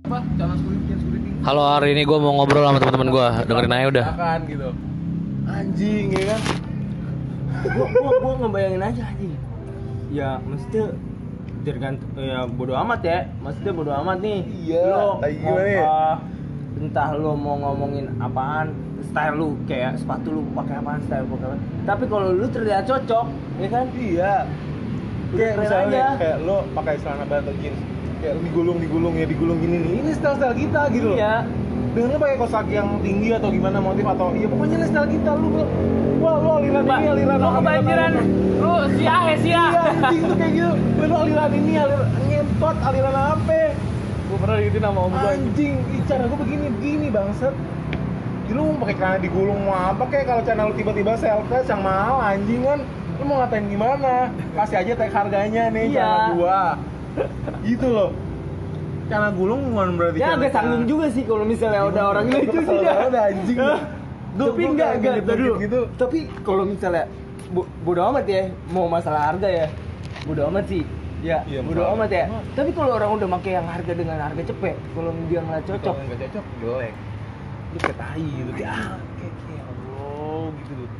Apa? Calon security. Halo, hari ini gue mau ngobrol sama teman-teman gue. Dengerin aja udah. Akan gitu. Anjing ya kan. Gua ngebayangin aja anjing. Ya mesti tergantung ya bodo amat ya. Maksudnya bodo amat nih. Iya, Lo kayak mau gimana ya? entah lo mau ngomongin apaan, style lu kayak sepatu lu pakai apaan, style pakai apaan. Tapi kalau lu terlihat cocok, ya kan? Iya. Udah Kayak keren misalnya aja. kayak lo pakai celana bahan atau jeans, kayak lo digulung gini nih. Ini style kita gitu loh. Iya. Dengan lo pakai kaos kaki yang tinggi atau gimana motif atau ya pokoknya ini style kita lu. Wah, lo aliran ini, aliran Lo kebanjiran. Lu sia. Iya, anjing tuh kayak gitu. Lo aliran ini, aliran ngentot, aliran apa? Gua pernah digituin sama om gua. Anjing, cara gue begini bangsat. Jadi lu mau pakai celana digulung mau apa kayak kalau celana lu tiba-tiba selfie yang mahal anjing kan. Lu mau ngatain gimana? Kasih aja tag harganya nih Iya. celana gua. Gitu loh. Celana gulung bukan berarti Ya agak sanggung juga sih kalau misalnya udah orang lucu sih dah. Udah anjing. Tapi enggak dulu. Gitu. Tapi kalau misalnya bodo amat ya, mau masalah harga ya. Bodo amat sih. Ya, Iya, bodo masalah. amat ya. Tapi kalau orang udah pakai yang harga dengan harga cepet, kalau dia nggak cocok, Kalau nggak cocok jelek. Lu kayak tai gitu. Ya, kayak Allah gitu loh.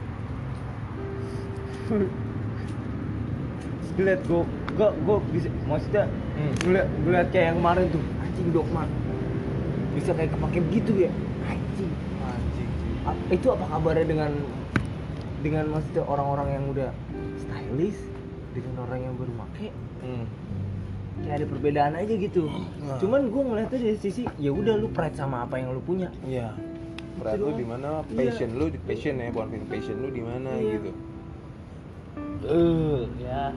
lihat gue bisa, maksudnya ngeliat kayak yang kemarin tuh, anjing Dokman bisa kayak kepake begitu ya, anjing. Anjing sih. Itu apa kabarnya dengan maksudnya orang-orang yang udah stylish dengan orang yang baru make? Kayak ada perbedaan aja gitu. Cuman gue ngeliatnya dari sisi ya udah lu pride sama apa yang lu punya. Iya. Berat lu di mana? Passion lu, passion ya, bukan passion lu di mana Iya. gitu. Ya.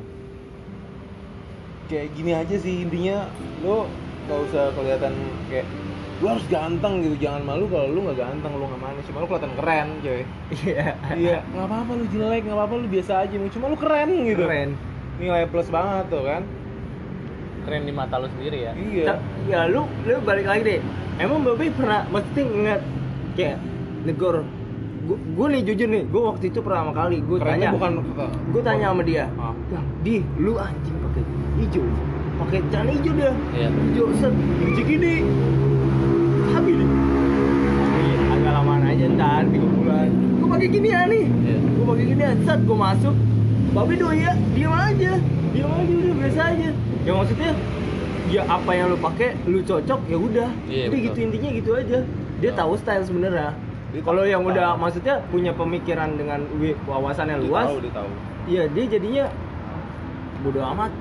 Kayak gini aja sih intinya, lu nggak usah kelihatan kayak lu harus ganteng gitu, jangan malu kalau lu nggak ganteng, lu nggak manis, cuma lu kelihatan keren, coy. Iya. Iya, nggak apa-apa lu jelek, nggak apa-apa lu biasa aja, cuma lu keren gitu. Keren. Nilai plus banget tuh kan. Keren di mata lu sendiri ya. Iya. Ya lu balik lagi deh. Emang Babe pernah mesti ngeliat kayak negor. Gue nih jujur nih, gue waktu itu pertama kali gue Kerennya tanya, bukan gue tanya sama dia, Ah. Bang, di lu anjing pakai hijau, pakai celana hijau dia, Iya. hijau set, hijau gini, habis nih. Agak lamaan aja ntar 3 bulan. Gue pakai gini ya nih, Iya. gue pakai gini ya, set gue masuk, Babe ya, diam aja udah biasa aja. Ya maksudnya, ya apa yang lu pakai, lu cocok ya udah, Iya, udah betul. gitu intinya gitu aja. Dia tahu style sebenarnya. Dia Kalau tahu. yang udah maksudnya punya pemikiran dengan wawasannya Dia luas, tahu, dia tahu. iya dia jadinya bodo amat.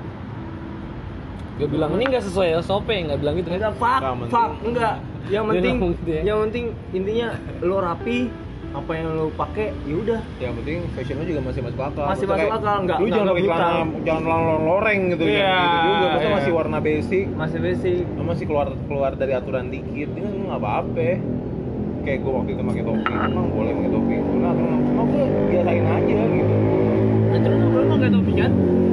Gue bilang ini nggak sesuai SOP, nggak bilang gitu kan? Enggak Nggak penting. fuck, enggak. Yang Dia penting, ngomong gitu ya. yang penting intinya lo rapi, apa yang lo pakai, ya udah. Yang penting fashion lu juga masih masuk akal. Masih Maksudnya masuk kayak, akal, nggak lu jangan pakai brutal. celana, jangan loreng gitu, Iya, jangan gitu juga. Maksudnya iya. masih warna basic. Masih basic. Lu masih keluar dari aturan dikit, ini nggak apa-apa. Kayak gue waktu itu pakai topi, emang boleh pakai topi, nah cuma gue biasain aja gitu. Terus lo pakai topi kan?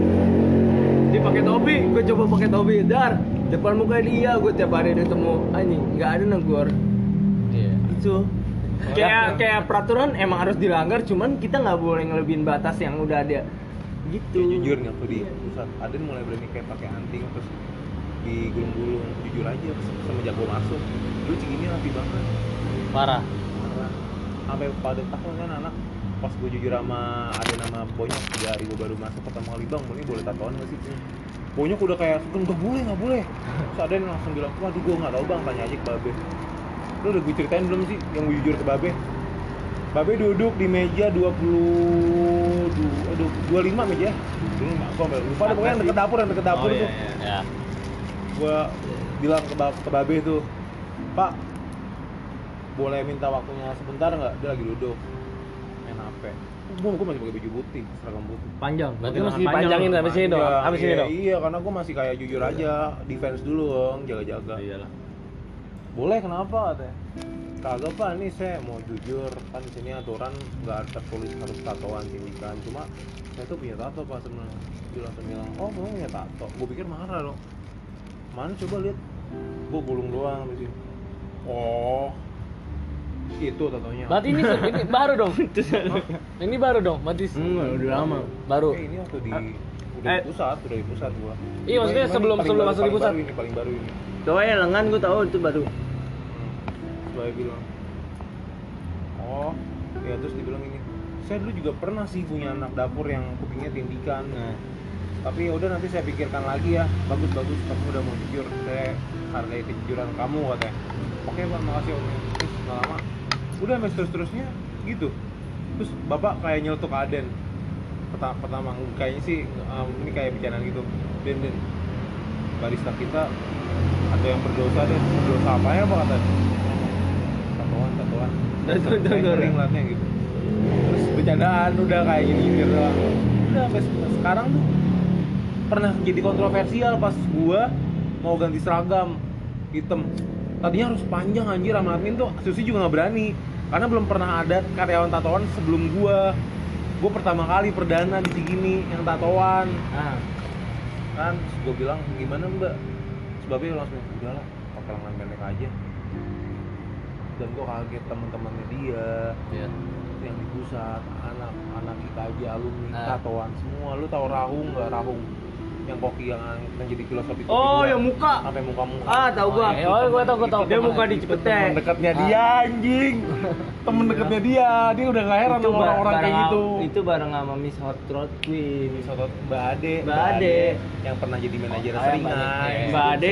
Dia pakai topi, gue coba pakai topi, dar depan muka dia, gue tiap hari ketemu anjing, nggak ada negor. Iya. Itu kayak peraturan emang harus dilanggar, cuman kita nggak boleh ngelebihin batas yang udah ada gitu. Ya, jujur nih waktu di pusat, Aden mulai berani kayak pakai anting terus digulung-gulung, jujur aja semenjak gue masuk, lu segini rapi banget. Parah. Sampai pada tahun kan anak pas gue jujur sama ada nama Bonyok 3 hari gue baru masuk pertama kali, bang ini boleh tatoan nggak sih? Bonyok udah kayak nggak boleh terus ada yang langsung bilang, waduh gue nggak tahu bang, tanya aja ke Babe. Lu udah gue ceritain belum sih yang gue jujur ke Babe? Babe duduk di meja 25 meja. Dulu nggak, gue sampai lupa deh, pokoknya yang deket dapur tuh. Ya. Gue bilang ke Babe tuh, Pak, boleh minta waktunya sebentar nggak? Dia lagi duduk main HP. Gue masih pakai baju putih, seragam putih. Panjang. Berarti masih dipanjangin sampai sini dong. Iya, Habis sini iya, dong. Iya, karena gue masih kayak jujur aja, defense dulu dong, jaga-jaga. Iyalah. Boleh, kenapa katanya? Kagak Pak, nih saya mau jujur, kan di sini aturan nggak tertulis harus tatoan sindikan, cuma saya tuh punya tato Pak sebenarnya. Dia langsung bilang, oh kamu punya tato? Gue pikir marah dong. Mana coba lihat, gue gulung doang di sini. Oh, itu tatonya. Berarti ini baru dong. Ini baru dong, berarti Udah lama. baru. Ini waktu di udah di pusat gua. Iya, maksudnya Cuman sebelum masuk di pusat. Paling baru ini. Coba yang lengan gue tahu itu baru. Saya bilang, oh ya, terus dibilang ini, saya dulu juga pernah sih punya anak dapur yang kupingnya tindikan. Tapi ya udah, nanti saya pikirkan lagi ya. Bagus kamu udah mau jujur, saya hargai kejujuran kamu, katanya. Oke Pak, makasih Om. Terus nggak lama udah sampai terusnya gitu. Terus bapak kayak nyeletuk Aden pertama kayaknya sih ini kayak bicaraan gitu. Den barista kita ada yang berdosa deh. Berdosa apa ya Pak, katanya? Tatoan kayak ngeri ngeliatnya gitu. Terus bercandaan udah kayak gini doang. Udah sampai sekarang tuh pernah jadi kontroversial pas gua mau ganti seragam hitam. Tadinya harus panjang anjir, sama admin tuh Susi juga nggak berani karena belum pernah ada karyawan tatoan sebelum gua pertama kali perdana di Cikini yang tatoan. Kan terus gua bilang, gimana Mbak? Sebabnya langsung udahlah pakai lengan pendek aja. Dan gua kaget teman-temannya dia yang di pusat, anak IKJ alumni tatoan semua. Lu tahu Rahung nggak? Rahung yang koki yang jadi filosofi kopi. Oh, yang muka. Sampai muka-muka. Tahu gua. Gua tahu. Dia muka di Cipete. Temen dekatnya dia anjing. Temen dekatnya dia udah gak heran sama orang-orang kayak gitu. Itu bareng sama Miss Hot Rod Queen. Miss Hot Rod, Mbak Ade yang pernah jadi manajer Seringai. Mbak Ade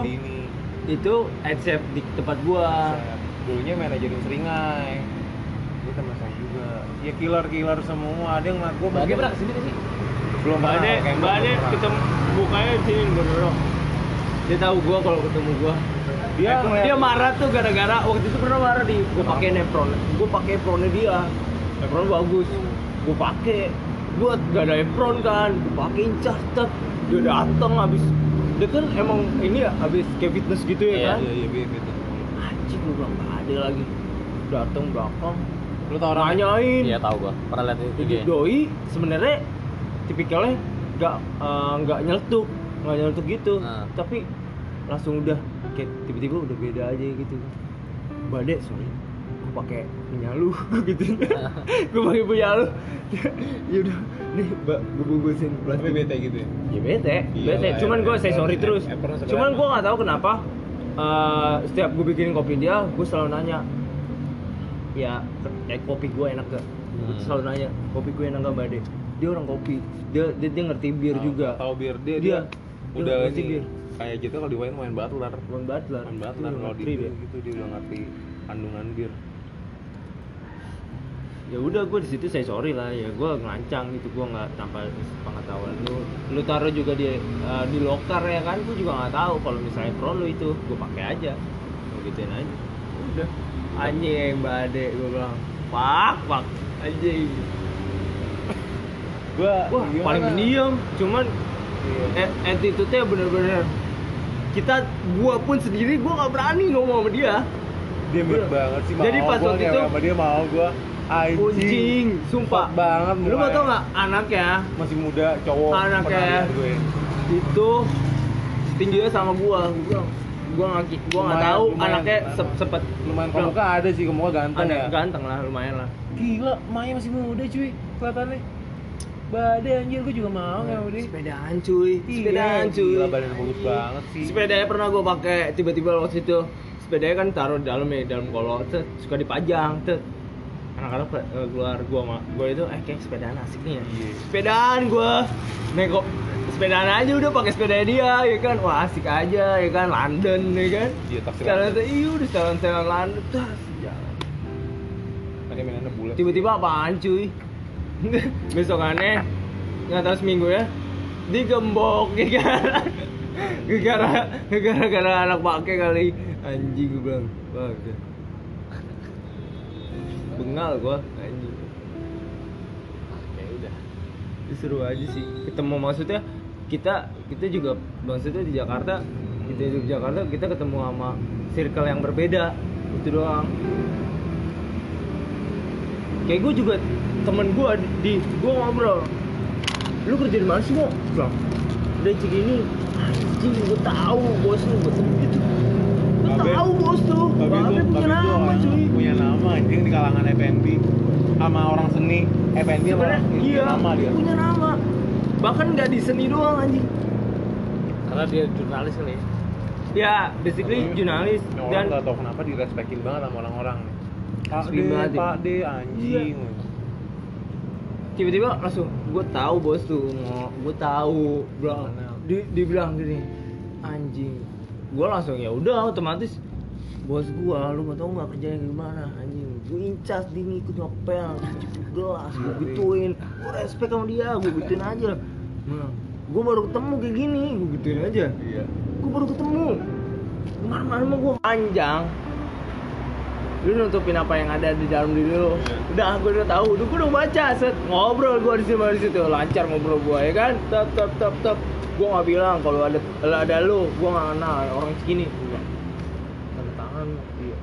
itu head chef di tempat gua. Dulunya manajerin Seringai. Dia teman saya juga. Ya killer semua. Ada yang ngeliat gua. Mbak Ade pernah kesini sih? Belum. Mbak Ade ketemu bukanya di sini berdorong. Dia tahu gua kalau ketemu gua. Dia marah tuh gara-gara waktu itu pernah marah di gua pakai apron. Gua pakai apronnya dia. Apron bagus. Gua pakai. Gua gak ada apron kan. Gua pakein cas. Dia datang habis. Dia kan emang ini ya habis kayak fitness gitu ya kan? Iya, fitness. Anjing, gua bilang gak ada lagi. Datang belakang. Lu tau orang nanyain. Iya, tahu gua. Pernah lihat itu. Doi sebenarnya tipikalnya nggak nyeletuk gitu, tapi langsung udah kayak tiba-tiba udah beda aja gitu. Bade, sorry, gue pakai punya lu gitu. Gue pakai punya lu. Ya udah, nih gue bungkusin plastik. Tapi bete gitu ya? Ya bete. Cuman gue say sorry terus. Cuman gue nggak tahu kenapa. Setiap gue bikinin kopi dia, gue selalu nanya, ya kopi gue enak gak? Gue selalu nanya, kopi gue enak gak Bade? Dia orang kopi, dia ngerti bir juga. Tahu bir dia udah ngerti bir. Kayak gitu kalau di main butler. Kalau di dia. gitu dia udah ngerti kandungan bir. Ya udah, gue di situ saya sorry lah ya, gue ngelancang gitu, gue nggak tanpa pengetahuan lu taruh juga di loker ya kan, gue juga nggak tahu kalau misalnya pro lu itu gue pakai aja, gue gituin aja. Udah anjing Mbak Ade, gue bilang pak anjing. Wah, paling pendiam, cuman attitude-nya bener-bener gua pun sendiri gua nggak berani ngomong sama dia. Dia mirip banget sih. Jadi pas waktu itu sama dia mau gua anjing, sumpah banget. Lu mau tau nggak anaknya masih muda, cowok, anaknya itu tingginya sama gua nggak tahu anaknya sepet lumayan kemuka ada sih, kemuka ganteng ya. Ganteng lah, lumayan lah. Gila, Maya masih muda cuy kelihatannya. Bade anjir, gue juga mau ya udah. Sepedaan cuy. Gila, badannya bagus banget sih. Sepedanya pernah gue pakai tiba-tiba waktu itu. Sepedanya kan taruh di dalam kolong, suka dipajang, anak-anak keluar gue itu kayak sepedaan asik nih ya. Sepedaan gue, kok sepedaan aja udah pakai sepeda dia, ya kan, wah asik aja, ya kan, London, ya kan. Iya, taksi. Udah setelan London, jalan. Tadi mainannya bulat. Tiba-tiba apaan cuy? Besokannya nggak tahu seminggu ya digembok gara-gara anak pakai kali anjing, gue bilang bagus bengal gue anjing. Ya udah, seru aja sih ketemu, maksudnya kita juga maksudnya di Jakarta, kita ketemu sama circle yang berbeda itu doang. Kayak gue juga temen gue gue ngobrol, lu kerja di mana sih, Mo? Bilang udah Cikini. Anjing, gue tahu bos lu, betul gitu. Gue tahu bos tuh. Babe punya nama cuy. Punya nama anjing di kalangan FNB sama orang seni. FNB sebenarnya iya, nama dia. Punya nama. Bahkan nggak di seni doang anjing. Karena dia jurnalis kali ya. Ya, basically jurnalis Ini orang dan nggak tahu kenapa direspekin banget sama orang-orang. Pak Asli banget, ya. Pak D, anjing. tiba-tiba langsung gue tahu bos tuh, gue tahu, bilang dibilang gini, anjing. Gue langsung ya udah otomatis bos gue, lu mau tau nggak kerjanya gimana anjing? Gue incas dia ngikut ngepel, gelas, gue gituin, gue respect sama dia, gue gituin aja. Nah, gue baru ketemu kayak gini, gue gituin aja. Iya. Gue baru ketemu, kemana-mana mah gue panjang. Lu nutupin apa yang ada di dalam diri lu. Udah, gue udah tahu, gue udah baca, set ngobrol gue di situ, lancar ngobrol gue ya kan, tep. Gue nggak bilang kalau ada lu, gue nggak kenal orang segini. Tanda tangan, iya.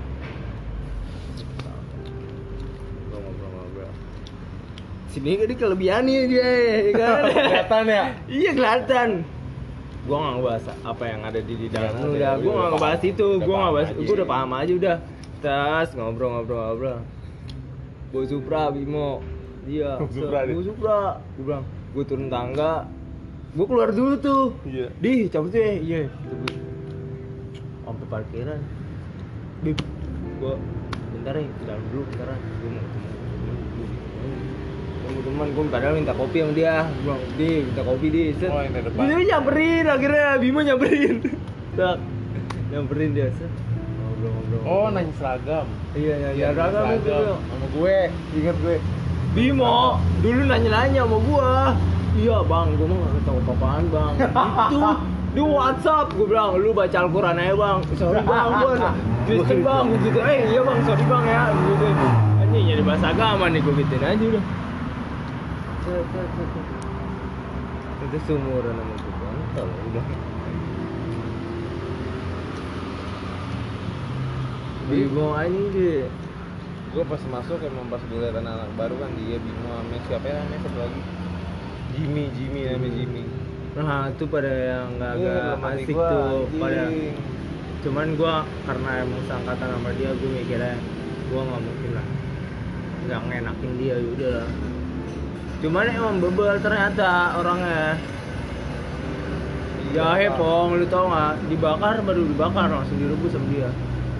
Gue ngobrol. Sini kan kelebihannya dia, ya kan? Kelihatan ya? Iya kelihatan. Gue nggak ngebahas apa yang ada di dalam lu, udah. Gue nggak ngebahas itu, gue nggak bahas, gue udah paham aja udah. Tas ngobrol. Gue Supra Bimo, dia. Gue Supra. Gue bilang, gue turun tangga, gue keluar dulu tuh. Iya. Di cabut ya, iya. Sampai parkiran. Bib, gue bentar ya, ke dalam dulu bentaran. Gue mau ketemu teman, gue padahal minta kopi sama dia. Gue bilang, di minta kopi di. Set. Oh, yang di depan. Dia nyamperin, akhirnya Bimo nyamperin. Tak, nyamperin dia. Set. Ngobrol. Oh, nanya seragam. Iya, seragam itu tuh. Sama gue, inget gue. Bimo, dulu nanya-nanya sama gua. Iya bang, gua mah gak tau apa-apaan bang. Itu di WhatsApp, gua bilang, lu baca Al-Quran aja bang. Sorry bang, gua Kristen bang, gitu. Iya bang, sorry bang ya, gitu. Anjing jadi bahasa agama nih, gua gituin aja udah. Itu seumuran sama gua, kontol udah. Bimo anjing deh. Gue pas masuk emang pas gue liat anak-anak baru kan dia Bimo sama siapa ya namanya satu lagi Jimmy namanya Jimmy. Nah itu pada yang Iya, agak teman asik gua, tuh anjing. pada. Cuman gua karena emang seangkatan sama dia, gua mikirnya gua nggak mungkin lah nggak ngenakin dia, yaudah lah. Cuman emang bebel ternyata orangnya. Jahe pong, lu tau nggak? Baru dibakar langsung direbus sama dia.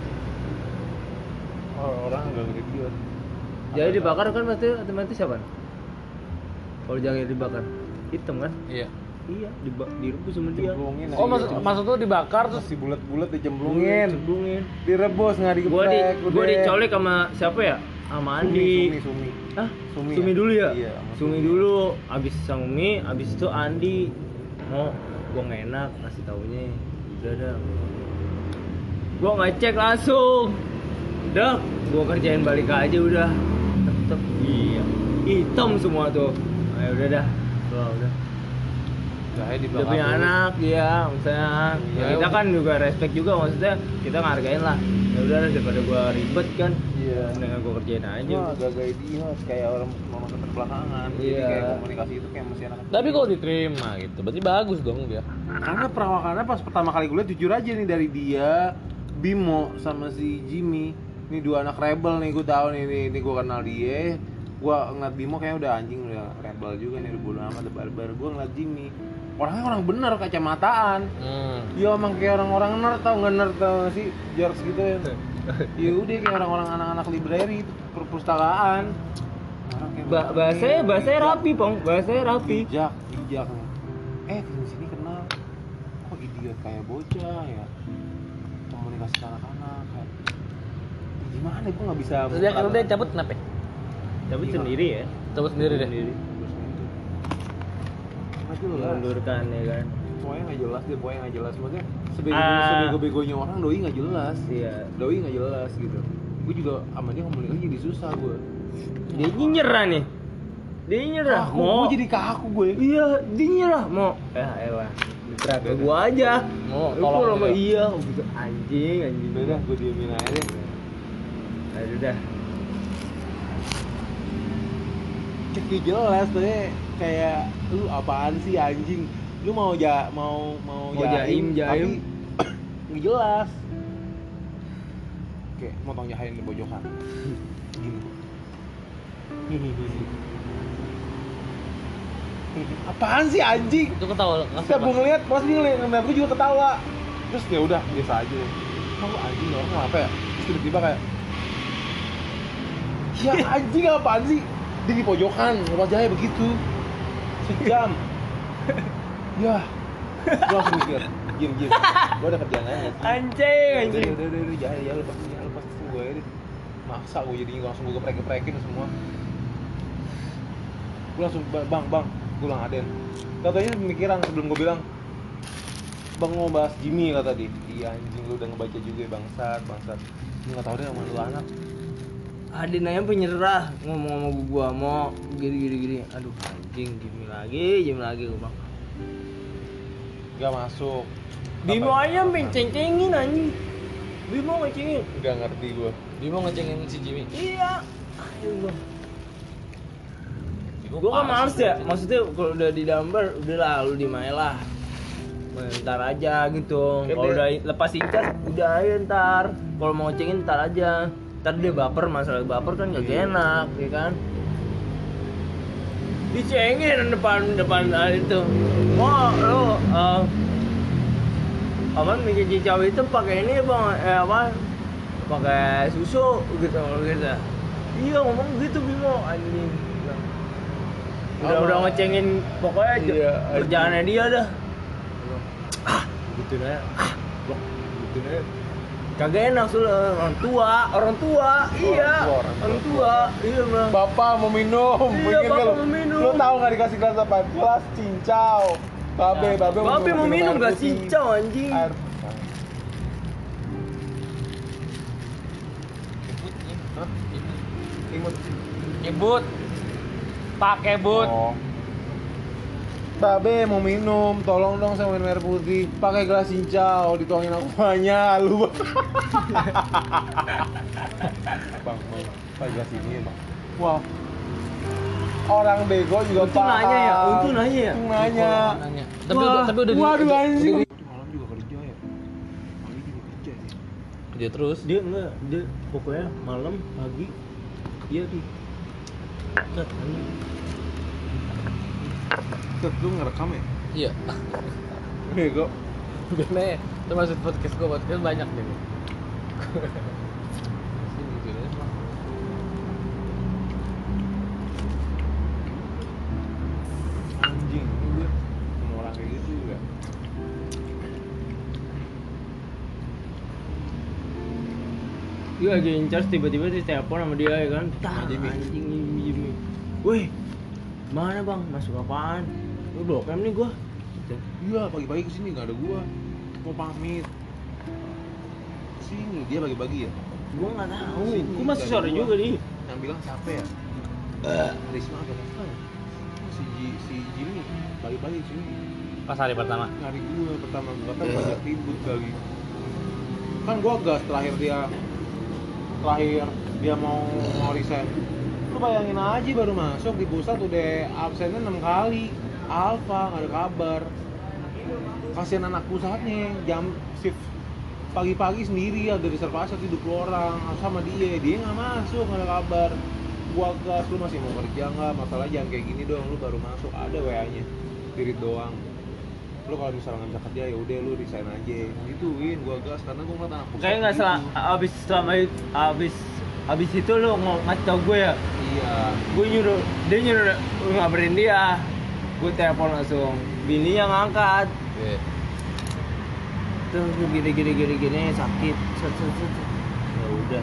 Oh, orang agak idiot. Jadi dibakar kan pasti otomatis siapa? Kalau jahe dibakar hitam kan? Iya. Iya, direbus sama dia. Cemplungin. Oh, maksud tuh dibakar terus masih bulat-bulat dicemplungin. Cemplungin. Direbus nggak digeprek. Gua dicolek sama siapa ya? Sama Andi. Sumi. Hah? Sumi Sumi ya? dulu ya? Iya, sama Sumi dulu, abis Sumi, abis itu Andi. Mau gua nggak enak kasih taunya. Udah dah. Gua ngecek langsung. Udah, gua kerjain balik aja udah. Tetep iya. Hitam semua tuh. Ayo udah dah. Udah. Jahe Udah dibakar. punya dulu. anak dia, misalnya. Iya, Ya, kita kan juga respect juga, maksudnya kita ngehargain lah. Ya udah daripada gua ribet kan. Iya. Dengan gua kerjain aja. Wah, agak idiot kayak orang mau keterbelakangan. Jadi Iya. kayak komunikasi itu kayak masih anak. tapi kalau diterima gitu, berarti bagus dong dia. Karena perawakannya pas pertama kali gue lihat jujur aja nih dari dia, Bimo sama si Jimmy. Ini dua anak rebel nih, gue tahu nih gue kenal dia. Gue ngeliat Bimo kayaknya udah anjing, udah rebel juga nih, udah bodo amat, udah barbar. Gue ngeliat Jimmy, orangnya orang bener, kacamataan. Ya emang kayak orang-orang nerd, tau nggak nerd tau nggak sih, George gitu ya. Ya udah kayak orang-orang anak-anak library, perpustakaan. Orang kayak Bahasanya rapi, Pong. Bahasanya rapi. bijak. Di sini kenal, kok idiot kayak bocah ya, komunikasi ke anak-anak kayak gimana, gue nggak bisa. Terus dia kalau dia cabut kenapa? Tapi Iya. sendiri ya. Cabut sendiri deh. Nggak jelas, Mengundurkan ya kan. pokoknya nggak jelas dia, pokoknya nggak jelas, maksudnya Ah. sebego-begonya orang doi nggak jelas. Iya. Doi nggak jelas gitu. Gue juga sama dia komunikasi jadi susah gue. Dia nyerah nih. Dia nyerah. Gue jadi kaku gue. Iya, dia nyerah mau. Elah. Terakhir gua aja. Mau Lu tolong kalau dia. iya gitu anjing. Udah dah, gue diemin aja deh. Aduh dah. Kayak jelas tuh kayak lu apaan sih anjing, lu mau jaim. tapi nggak jelas, kayak motong jahe di pojokan gini. Apaan sih anjing? Itu ketawa. Setiap gue ngeliat, pas dia ngeliat gue juga ketawa. Terus ya udah biasa aja. Emang lu anjing orang mau apa ya? Terus tiba-tiba kayak ya anjing apaan sih? Dia di pojokan, wajahnya begitu. Sejam. Ya. Gue langsung mikir, diem. Gue ada kerjaan aja. Anjing. Udah, ya lepas gue ya. Maksa gue jadinya langsung gue geprek-geprekin semua. Gue langsung bang, gue bilang Aden. Katanya pemikiran sebelum gue bilang, bang mau bahas Jimmy kata dia. Iya anjing lu udah ngebaca juga ya bangsat. Lu nggak tahu deh sama lu anak. Adin aja penyerah ngomong sama gua mau gini. Aduh anjing Jimmy lagi gua bang. Gak masuk. Bimo aja menceng-cengin anjing. Bimo ngecengin. Gak ngerti gue. Dia mau ngecengin si Jimmy. Iya. Aduh. Gua kan males ya. Maksudnya kalau udah di dambar udah lah lu dimain lah. Ntar aja gitu. Ya, Kalau udah lepas ikat udah aja ntar. Kalau mau ngecengin ntar aja. Ntar dia baper, masalah baper kan gak enak, ya kan? Dicengin depan itu. Mau lo apaan bikin cicau itu pakai ini bang, apa? Pakai susu gitu. Iya ngomong gitu Bimo anjing. Udah ngecengin pokoknya iya, kerjaannya dia dah. Gitu ya. Gitu ya. Kagak enak soalnya orang tua, iya, orang tua, iya bang. Bapak mau minum, Iya, Mikir bapak lu. mau minum. Lu tahu nggak dikasih gelas apa? Gelas cincau. Babe mau minum air gak putih. cincau anjing. Air. Hah? Imut. Nyebut. Pakai but. Oh. Babe mau minum, tolong dong saya minum air putih. Pakai gelas cincau, dituangin aquanya lu. Bang, pakai gelas ini ya, Bang. Wah. Orang bego juga Untung nanya ya, untung nanya ya. Nanya. Nanya. Wah, Tapi udah Waduh anjing. udah- Malam juga kerja ya. Pagi juga kerja ya. dia terus. Dia enggak, dia pokoknya malam, pagi, dia di. Ket, anjing. Tet, lu ngerekam ya? Iya. Bego. Bener. Termasuk podcast banyak deh. Sini gitu deh. Anjing, ini gue sama orang kayak gitu juga. Dia lagi in charge tiba-tiba di telepon sama dia ya kan. Tah, Jimmy. anjing Jimmy. Weh, mana bang? Masuk apaan? Lu blok M nih gua. Gitu. Iya, pagi-pagi kesini nggak ada gua. Mau pamit. Sini dia pagi-pagi ya. Gua nggak tahu. Sini, Gua masih dari sore gua. juga nih. Yang bilang siapa ya? Risma atau apa? Si Jimmy pagi-pagi sini Pas hari pertama. nyari gua pertama gua kan banyak ribut kali. Kan gua gas terakhir dia mau resign. Lu bayangin aja baru masuk di pusat udah absennya 6 kali. Alfa nggak ada kabar. Kasihan anak pusatnya jam shift pagi-pagi sendiri ada reservasi 70 orang sama dia nggak masuk nggak ada kabar. Gua gas, lu masih mau kerja nggak? Masalah jangan kayak gini dong, lu baru masuk ada WA-nya dirit doang. Lu kalau misalnya nggak bisa kerja ya udah lu resign aja gituin. Gua gas karena gua ngeliat anak pusat Kayaknya nggak salah. Abis itu lu ngasih tau gue ya. iya. Gue dia nyuruh ngabarin dia. Gue telepon langsung. Bininya ngangkat. Iya. Terus gini sakit. Set. Ya udah.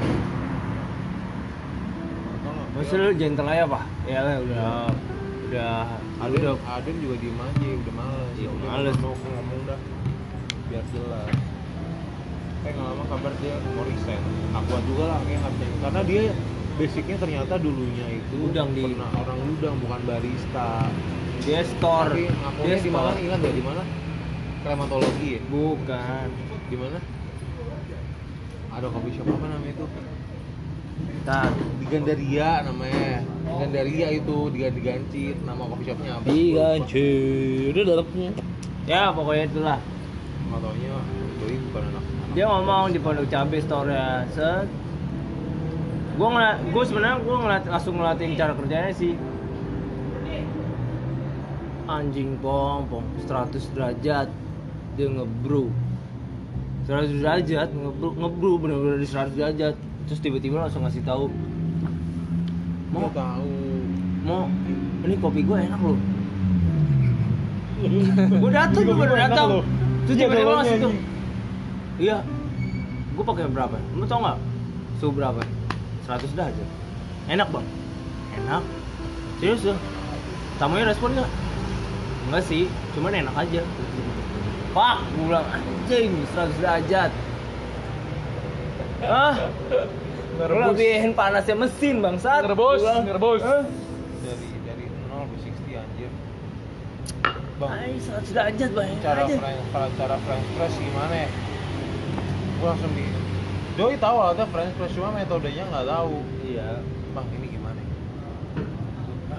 Masa lu gentle aja pak? Ya lah udah. Aden juga diem aja, udah males. Iya, Udah males. mau ngomong dah, biar jelas. Nggak lama kabar dia mau resign. Akuat juga lah kayak nggak bisa. Karena dia basicnya ternyata dulunya itu Udang di- pernah orang udang bukan barista. Dia store. Tapi Dia ngakunya di mana? store. Ingat nggak di mana? Krematologi ya? Bukan. Di mana? Ada coffee shop apa namanya itu? Ntar. Di Gandaria namanya. Gandaria itu diganti nama coffee shopnya apa? Digancir dalamnya. Ya pokoknya itulah. Nggak taunya doi bukan anak. Dia ngomong di Pondok Cabe store ya. Set. Gue sebenarnya langsung ngeliatin cara kerjanya sih. anjing pom 100 derajat dia ngebrew 100 derajat ngebrew bener-bener di 100 derajat terus tiba-tiba langsung ngasih tahu Mau tahu. mau ini kopi gue enak loh gue datang gue baru datang terus tiba-tiba langsung tuh iya gue pakai berapa lu tau nggak suhu berapa 100 derajat enak bang enak serius tuh tamunya respon nggak enggak sih cuman enak aja pak gue bilang anjing 100 derajat lebihin panasnya mesin bangsat Ngerebus. Dari 0 ke 60 anjir. Bang, ay 100 derajat bang cara aja cara French press gimana ya? Gua langsung di Joey tahu ada French press cuma metodenya nggak tahu. iya Bang, ini gimana? Hah?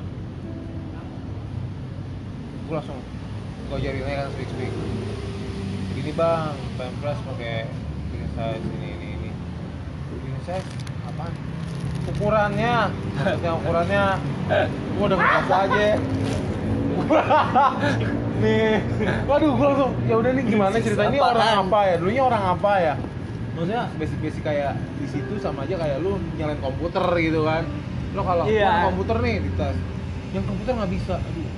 Gua langsung gua ajarin aja kan speak. Gini bang, French press pakai bikin size ini. Bikin size apaan? Ukurannya, maksudnya ukurannya. Gua udah ngekas aja. Nih, waduh, gua langsung ya udah nih gimana cerita ini orang apa ya? Dulunya orang apa ya? Maksudnya basic kayak di situ sama aja kayak lu nyalain komputer gitu kan. Lo kalau Iya. komputer nih di tas, yang komputer nggak bisa. Aduh.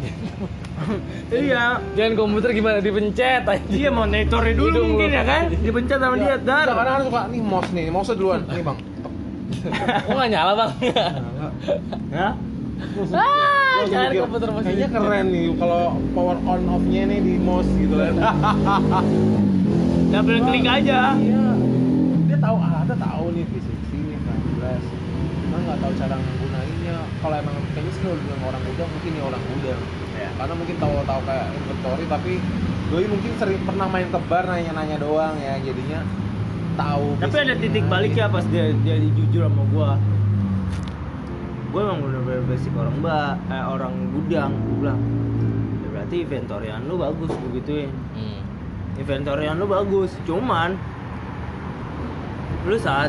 iya Jangan komputer gimana dipencet aja. iya monitornya dulu Hidung mungkin lu. ya kan dipencet sama dia dar Iya, kadang-kadang suka nih mouse duluan. Nih bang. Kok nggak nyala bang? Hah? Gua Jangan mikir, komputer masih. kayaknya keren nih kalau power on off-nya nih di mouse gitu kan. double klik aja Iya. Dia tahu tahu nih V60 nih French press. Cuma nggak tahu cara menggunainnya. Kalau emang kayaknya sih kalau bilang orang muda mungkin ya orang muda. Ya. Karena mungkin tahu kayak inventory tapi doi mungkin sering pernah main tebar nanya-nanya doang ya jadinya tahu. tapi ada titik balik ya pas dia jujur sama gua emang bener-bener basic orang gudang gua bilang ya berarti inventorian lu bagus begituin inventorian lu bagus cuman lu saat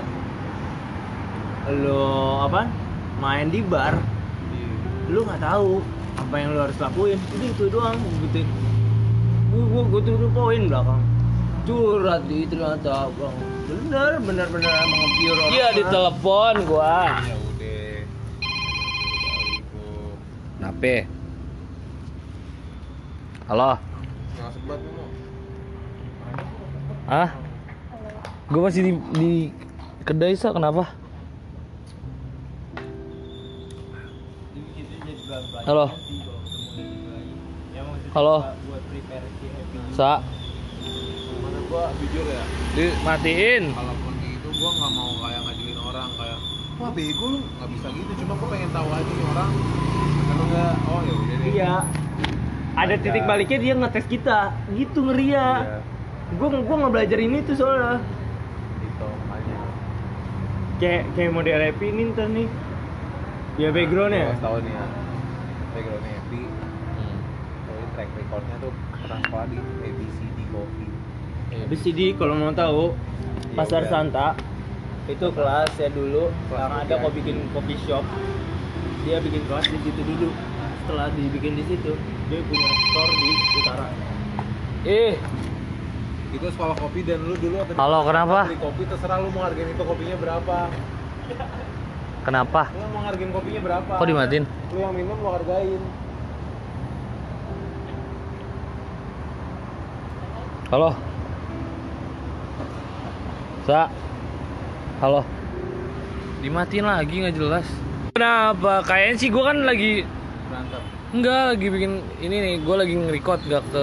lu apa main di bar lu nggak tahu apa yang lu harus lakuin itu doang gituin gua tuh poin belakang curhat di ternyata bang bener emang nge-pure orang Iya ditelepon gua. Ya udah. Nape? Halo. Nggak sebat lu mau. Hah? Gua masih di kedai sa kenapa? Halo. Halo. Sa. Mana gua jujur ya. Dimatiin. Kalaupun gitu gua nggak mau kayak ngajuin orang kayak wah bego lu nggak bisa gitu cuma gua pengen tahu aja nih orang kalau nggak oh ya udah deh iya ada titik baliknya dia ngetes kita gitu ngeri ya gua nggak belajar ini tuh soalnya gitu makanya kayak model rap ini ntar nih ya backgroundnya gua tahu nih ya backgroundnya happy jadi track recordnya tuh pernah sekolah di ABCD Coffee habis CD kalau mau tahu Pasar udah. Santa itu kelas ya dulu Kelas yang ada tiga. kok bikin coffee shop dia bikin kelas di situ dulu setelah dibikin di situ dia punya store di utara itu sekolah kopi dan lu dulu atau Halo, kenapa? beli kopi terserah lu mau hargain itu kopinya berapa Kenapa? lu mau hargain kopinya berapa Kok dimatiin? lu yang minum lu hargain Halo. Sa. Halo. Dimatiin lagi nggak jelas. Kenapa? Kayaknya sih gua kan lagi berantem enggak lagi bikin ini nih, gua lagi nge-record gak ke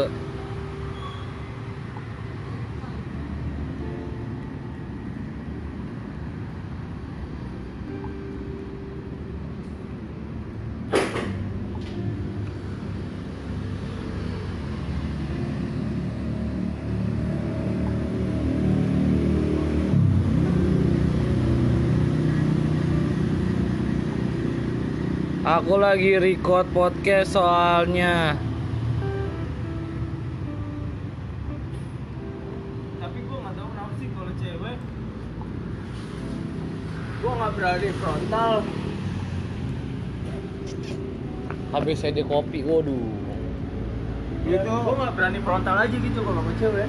Aku lagi record podcast soalnya. tapi gue nggak tahu kenapa sih kalau cewek gue nggak berani frontal Habis saya di kopi, waduh. Dia tuh Gue nggak berani frontal aja gitu kalau sama cewek.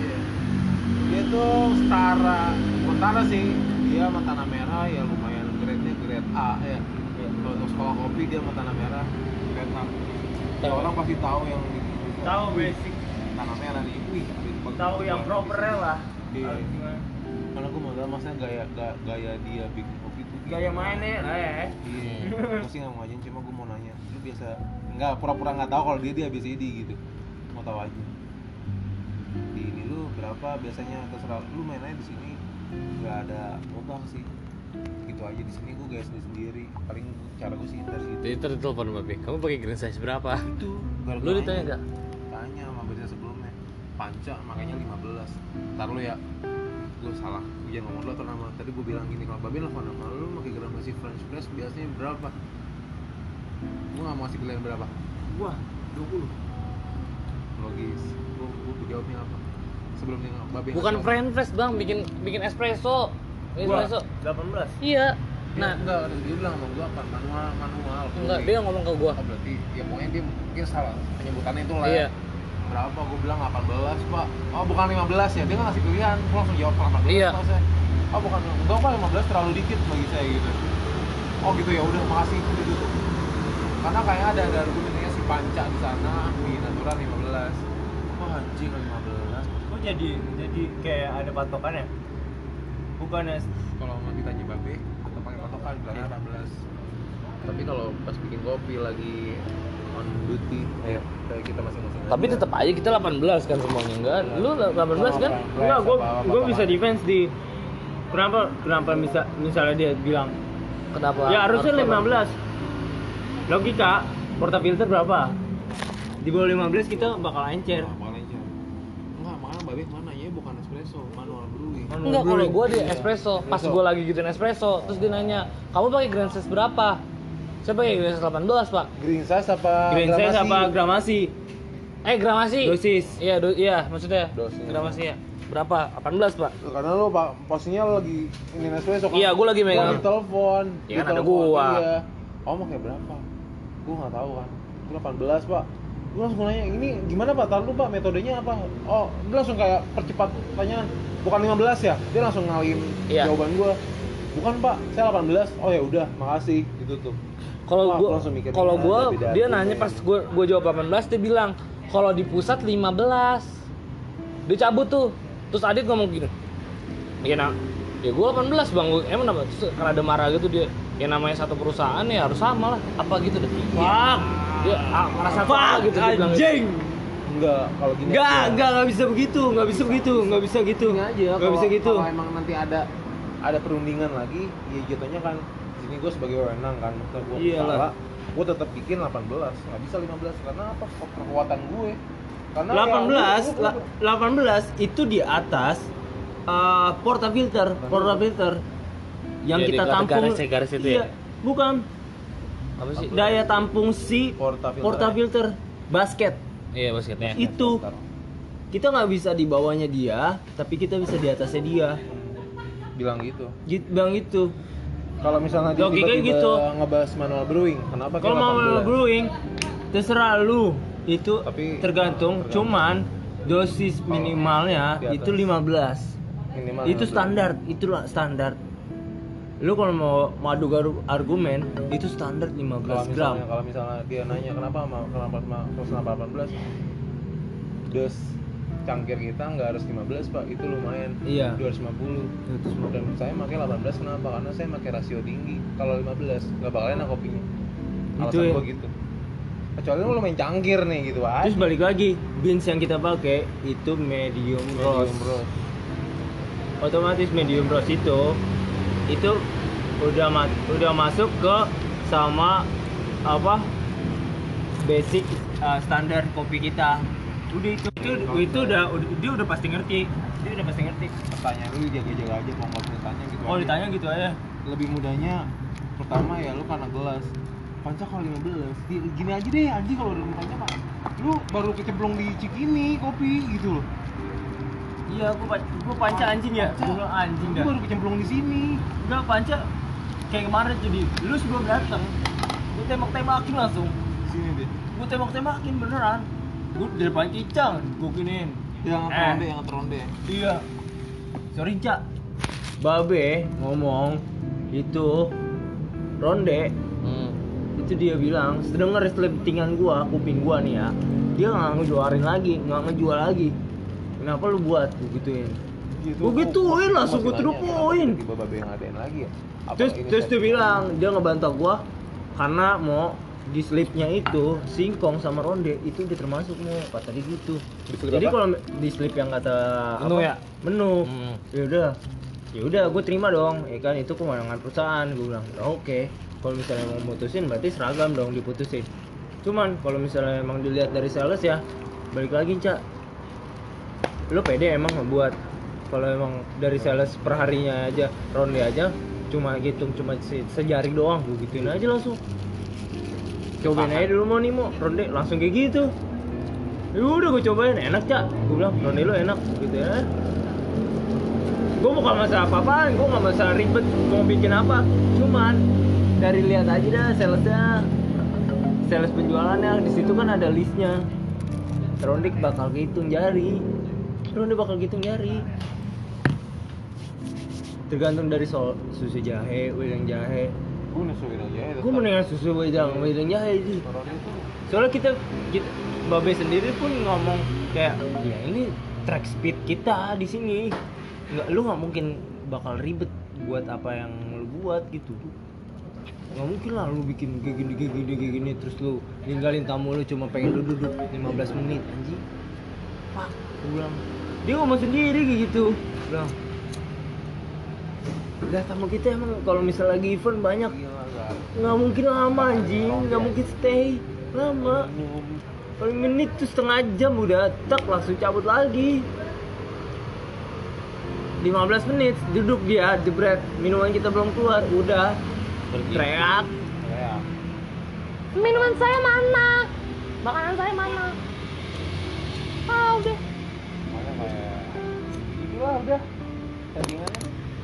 dia tuh setara sih. Dia sama tanah merah ya lumayan grade-nya grade A ya. Kalau untuk sekolah kopi dia sama tanah merah grade A. Ya orang pasti tahu yang Tahu basic, tanah merah nih. Wih, tahu yang propernya lah. Iya. Harus gimana. Karena gue mau tahu maksudnya gaya dia bikin kopi tuh Gaya mainnya, Iya, gue sih nggak mau ngajarin, cuma gue mau nanya, lu biasa nggak pura-pura nggak tahu kalau dia ABCD gitu, mau tahu aja. Di ini lu berapa biasanya, terserah lu main aja di sini, nggak ada modal sih, gitu aja. Di sini gue gaya sendiri, paling cara gue sih dari gitu. Jadi telepon Babe, kamu pakai green size berapa? Itu, Lu ditanya nggak? Tanya sama biasa sebelumnya, panca makanya 15. Ntar lu ya, gue salah, gue jangan ngomong dulu atau nama. Tadi gue bilang gini, kalau Babe nelfon nama lu pakai gramasi French press biasanya berapa? Gue nggak mau kasih pilihan berapa. Wah, 20. Logis. Gue jawabnya apa? Sebelum dia Babe Bukan ngasih French press bang, bikin espresso. Espresso. 18. Iya. Nah, Nah, enggak, dia bilang sama gue apa? Manual. enggak, dia ngomong ke gua. Oh, berarti ya pokoknya dia mungkin salah penyebutannya itu lah. Iya. Berapa? Gue bilang 18 pak. Oh bukan 15 ya? Dia nggak ngasih pilihan. Gue langsung jawab 18. Iya. Pak, saya. Oh bukan, enggak pak, 15 terlalu dikit bagi saya gitu. Oh gitu ya udah, makasih udah tutup. Karena kayaknya ada argumennya si Panca di sana di natural 15. Oh anjing 15. Kok jadi kayak ada patokannya? Bukannya Kalau mau ditanya Babe, atau pakai patokan bilangnya 18. Tapi kalau pas bikin kopi lagi on duty, kayak kita masing-masing. Tapi aja. tetap aja kita 18 kan semuanya, enggak? Lu 18 kan? enggak, gue bisa defense di kenapa misalnya dia bilang Kenapa? ya harusnya harus 15. Logika, portafilter berapa? Di bawah 15 kita bakal encer. Nah, bakal encer. Enggak, makanya Babe mana ya bukan espresso, manual brewing. Enggak, kalau gua di espresso, pas gua lagi gituin espresso, terus dia nanya, "Kamu pakai green size berapa?" Saya pakai green size 18, Pak. Green size apa? Green size apa gramasi? Gramasi. Dosis. Iya, maksudnya. Dosis. Gramasi ya. Berapa? 18, Pak. Karena lu posisinya lu lagi ini espresso kan? Iya, gua lagi megang. Gua telepon. Iya kan ada gua. Iya. Oh, pakai berapa? Gua nggak tahu kan. Gua 18, Pak. Gua langsung nanya, "Ini gimana, Pak? Tahu lu, Pak, metodenya apa?" Oh, dia langsung kayak percepat tanya. Bukan 15 ya? Dia langsung ngalihin Iya. jawaban gua. Bukan, Pak. Saya 18. Oh ya udah, makasih. Gitu tuh. Kalau Wah, gua gua langsung mikir, kalau ada gua beda dia argumen. nanya pas gua jawab 18, dia bilang, "Kalau di pusat 15." Dia cabut tuh. Terus Adit ngomong gini. Ya nah, ya gua 18, Bang. Emang kenapa? Terus karena ada marah gitu dia. Ya namanya satu perusahaan ya harus sama lah. Apa gitu deh. Fuck. Dia merasa Fuck, apa gitu dia bilang gitu. anjing. Enggak, kalau gini Enggak bisa begitu, nggak bisa gitu. Gini aja, Nggak bisa gitu. Kalau emang nanti ada perundingan lagi, ya jatuhnya kan di sini gue sebagai wewenang kan, maksudnya gue Iyalah. salah, gue tetap bikin 18, nggak bisa 15 karena apa? Kekuatan gue. Karena 18 itu di atas portafilter yang Ya, kita di tampung. garis itu Iya, ya? bukan. Apa sih? Daya tampung si portafilter basket. Iya, basketnya. Itu kita nggak bisa di bawahnya dia, tapi kita bisa di atasnya dia. bilang gitu. Bang itu. Kalau misalnya dia Logikanya tiba-tiba gitu. ngebahas manual brewing, kenapa Kalau mau brewing, terserah lu. Itu Tapi tergantung. Cuman dosis minimalnya di atas. itu 15. minimal Itu standar, itulah standar. Lu kalau mau madu argumen itu standar 15 gram. Kalau misalnya dia nanya kenapa 18, dos cangkir kita nggak harus 15 Pak, itu lumayan. Iya. 250. Dan saya pakai 18 kenapa? Karena saya pakai rasio tinggi. Kalau 15 nggak bakal enak kopinya. Itu Alasan ya. gua gitu. Kecuali lu main cangkir nih gitu aja. Terus balik lagi, beans yang kita pakai itu medium roast. Otomatis medium roast itu udah masuk ke sama apa basic standar kopi kita. Udah itu dia udah pasti ngerti. Pertanyaan lu jaga-jaga aja kalau nggak tanya gitu. Oh aja. ditanya gitu aja. Lebih mudahnya pertama ya lu karena gelas. Panca kalau 15. Gini aja deh anjing, kalau udah tanya Pak. Lu baru kecemplung di Cikini kopi gitu loh. Iya, gua panca anjing ya. Gua bilang anjing Lu dah. baru kecemplung di sini. Enggak panca kayak kemarin jadi lu sebelum datang. Gua tembak-tembakin langsung. Sini deh. Gua tembak-tembakin beneran. Gue di depan Cicang, gue giniin. Yang teronde. Iya. Sorry Cak. Babe ngomong itu ronde. Itu dia bilang, sedengar selentingan gua, kuping gua nih ya. Dia nggak ngejual lagi. Kenapa lu buat? Gue gituin. Gue gituin langsung gue terupuin. Tiba babe yang ngadain lagi ya. Terus dia bilang dia ngebantah gua karena mau di slipnya itu singkong sama ronde itu udah termasuk mau kata dia gitu. Jadi kalau di slip yang kata menu ya udah gue terima dong ya kan, itu kewenangan perusahaan. Gue bilang oke. Kalau misalnya mau mutusin berarti seragam dong diputusin. Cuman kalau misalnya emang dilihat dari sales ya balik lagi Cak, lo pede emang ngebuat kalau emang dari sales perharinya aja ronde aja cuma hitung cuma sejari doang, gue gituin aja langsung. Cobain aja dulu mau nih mau ronde langsung kayak gitu. Ya udah gue cobain enak Cak, gue bilang ronde lo enak gitu ya. Gue bukan masalah apa-apaan, gue nggak masalah ribet mau bikin apa, cuman dari lihat aja dah salesnya, sales penjualannya di situ kan ada listnya. Ronde bakal hitung jari, tergantung dari susu jahe, wedang jahe. Gue nasuin aja ya. Gue mendingan susu wedang jahe sih. Soalnya kita Babe sendiri pun ngomong kayak ya ini track speed kita di sini. Lu nggak mungkin bakal ribet buat apa yang lu buat gitu. Nggak mungkin lah lu bikin kayak gini terus lu ninggalin tamu lu cuma pengen duduk 15 menit anjing. Pak, gue bilang. Dia ngomong sendiri kayak gitu. Bilang. Udah tamu kita emang kalau misal lagi event banyak nggak mungkin lama anjing, nggak mungkin stay lama. Paling menit tuh setengah jam udah tak langsung cabut lagi. 15 menit duduk dia jebret, minuman kita belum keluar udah teriak. Minuman saya mana? Makanan saya mana? Udah. Mana kayak itu lah udah settingannya.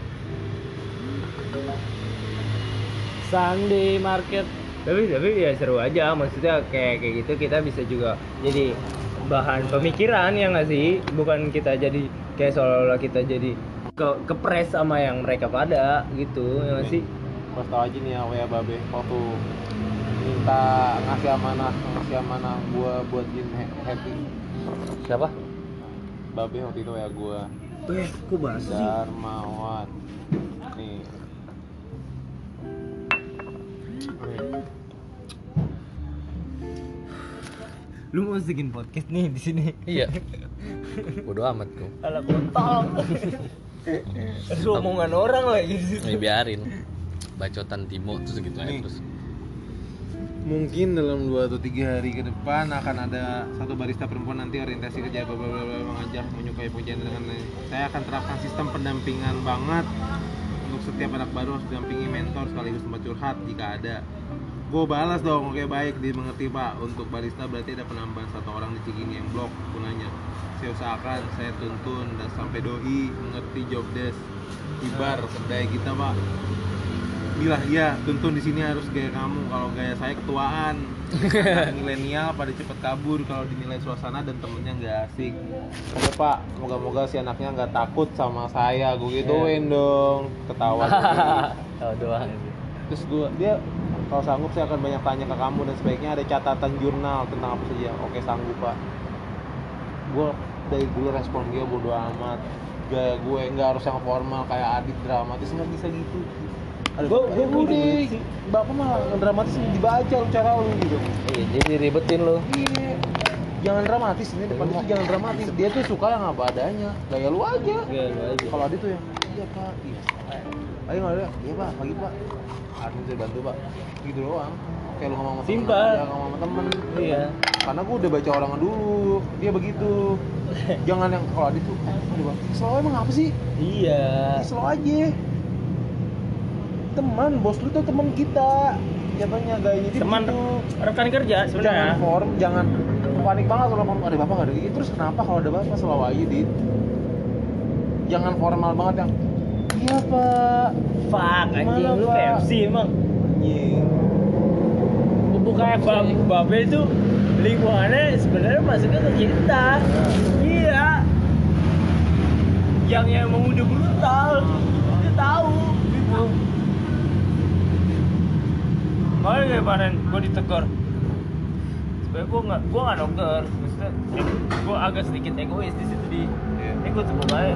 Sunday market. Tapi ya seru aja, maksudnya kayak gitu kita bisa juga jadi bahan pemikiran ya nggak sih, bukan kita jadi kayak seolah-olah kita jadi kepres sama yang mereka pada gitu ya nggak sih. Pas tau aja nih ya WA Babe waktu minta ngasih amanah gua buat Jin Happy. Siapa? Babe waktu itu WA gua. Kok bahas sih? Darmawan. Nih. Lu mau bikin podcast nih di sini? Iya. Bodoh amat tuh. Ala kontol. Lu omongan orang lagi di situ. Biarin. Bacotan Timo terus gitu aja terus. Mungkin dalam 2 atau 3 hari ke depan akan ada satu barista perempuan nanti orientasi kerja mengajak menyukai pujian dengan saya akan terapkan sistem pendampingan banget untuk setiap anak baru harus didampingi mentor sekaligus tempat curhat jika ada. Gue balas dong, oke baik dimengerti Pak. Untuk barista berarti ada penambahan 1 orang di Cikini yang blok gunanya. Saya usahakan, saya tuntun dan sampai doi mengerti job desk ibar kedai kita Pak. Bilah ya, tuntun di sini harus gaya kamu. Kalau gaya saya ketuaan, milenial pada cepet kabur kalau dinilai suasana dan temennya nggak asik. Oke Pak, moga-moga si anaknya nggak takut sama saya. Gue gituin dong, ketawa. Oh doang. Terus dia kalau sanggup saya akan banyak tanya ke kamu dan sebaiknya ada catatan jurnal tentang apa saja. Oke sanggup Pak. Gue dari dulu respon dia bodo amat. Gaya gue nggak harus yang formal kayak Adit dramatis, nggak bisa gitu. Gue udah bapak mah dramatis dibaca lu cara lu gitu. Iya, jadi ribetin lu. Iya. Jangan dramatis, ini depan itu jangan dramatis. Dia tuh suka yang apa adanya. Gaya lu aja. Kalau Adit tuh yang iya Pak, iya. Ayo nggak ada, iya Pak, pagi Pak. Adit bisa bantu Pak. Gitu doang. Kayak lu ngomong sama temen aja, ngomong sama temen. Iya. Karena gue udah baca orangnya dulu. Dia begitu. Jangan yang kalau Adit tuh, aduh Bang, slow emang apa sih? Iya. Slow aja. Teman, bos lu tuh teman kita. Jatuhnya gayanya dia Teman begitu. rekan kerja Jangan sebenarnya. form, jangan panik banget kalau ngomong ada bapak nggak ada gigi. Terus kenapa kalau ada bapak selalu aja Dit? Jangan formal banget yang iya Pak. Fuck anjing, Gimana, lu Pak? KFC emang. Anjing. Bukannya Babe itu lingkungannya sebenarnya masuknya ke kita. Iya. Yang emang udah brutal, dia tahu gitu. Makanya kayak kemarin gue ditegur. Sebenernya gue nggak dokter, maksudnya gue agak sedikit egois di situ di. Ini gue coba baik.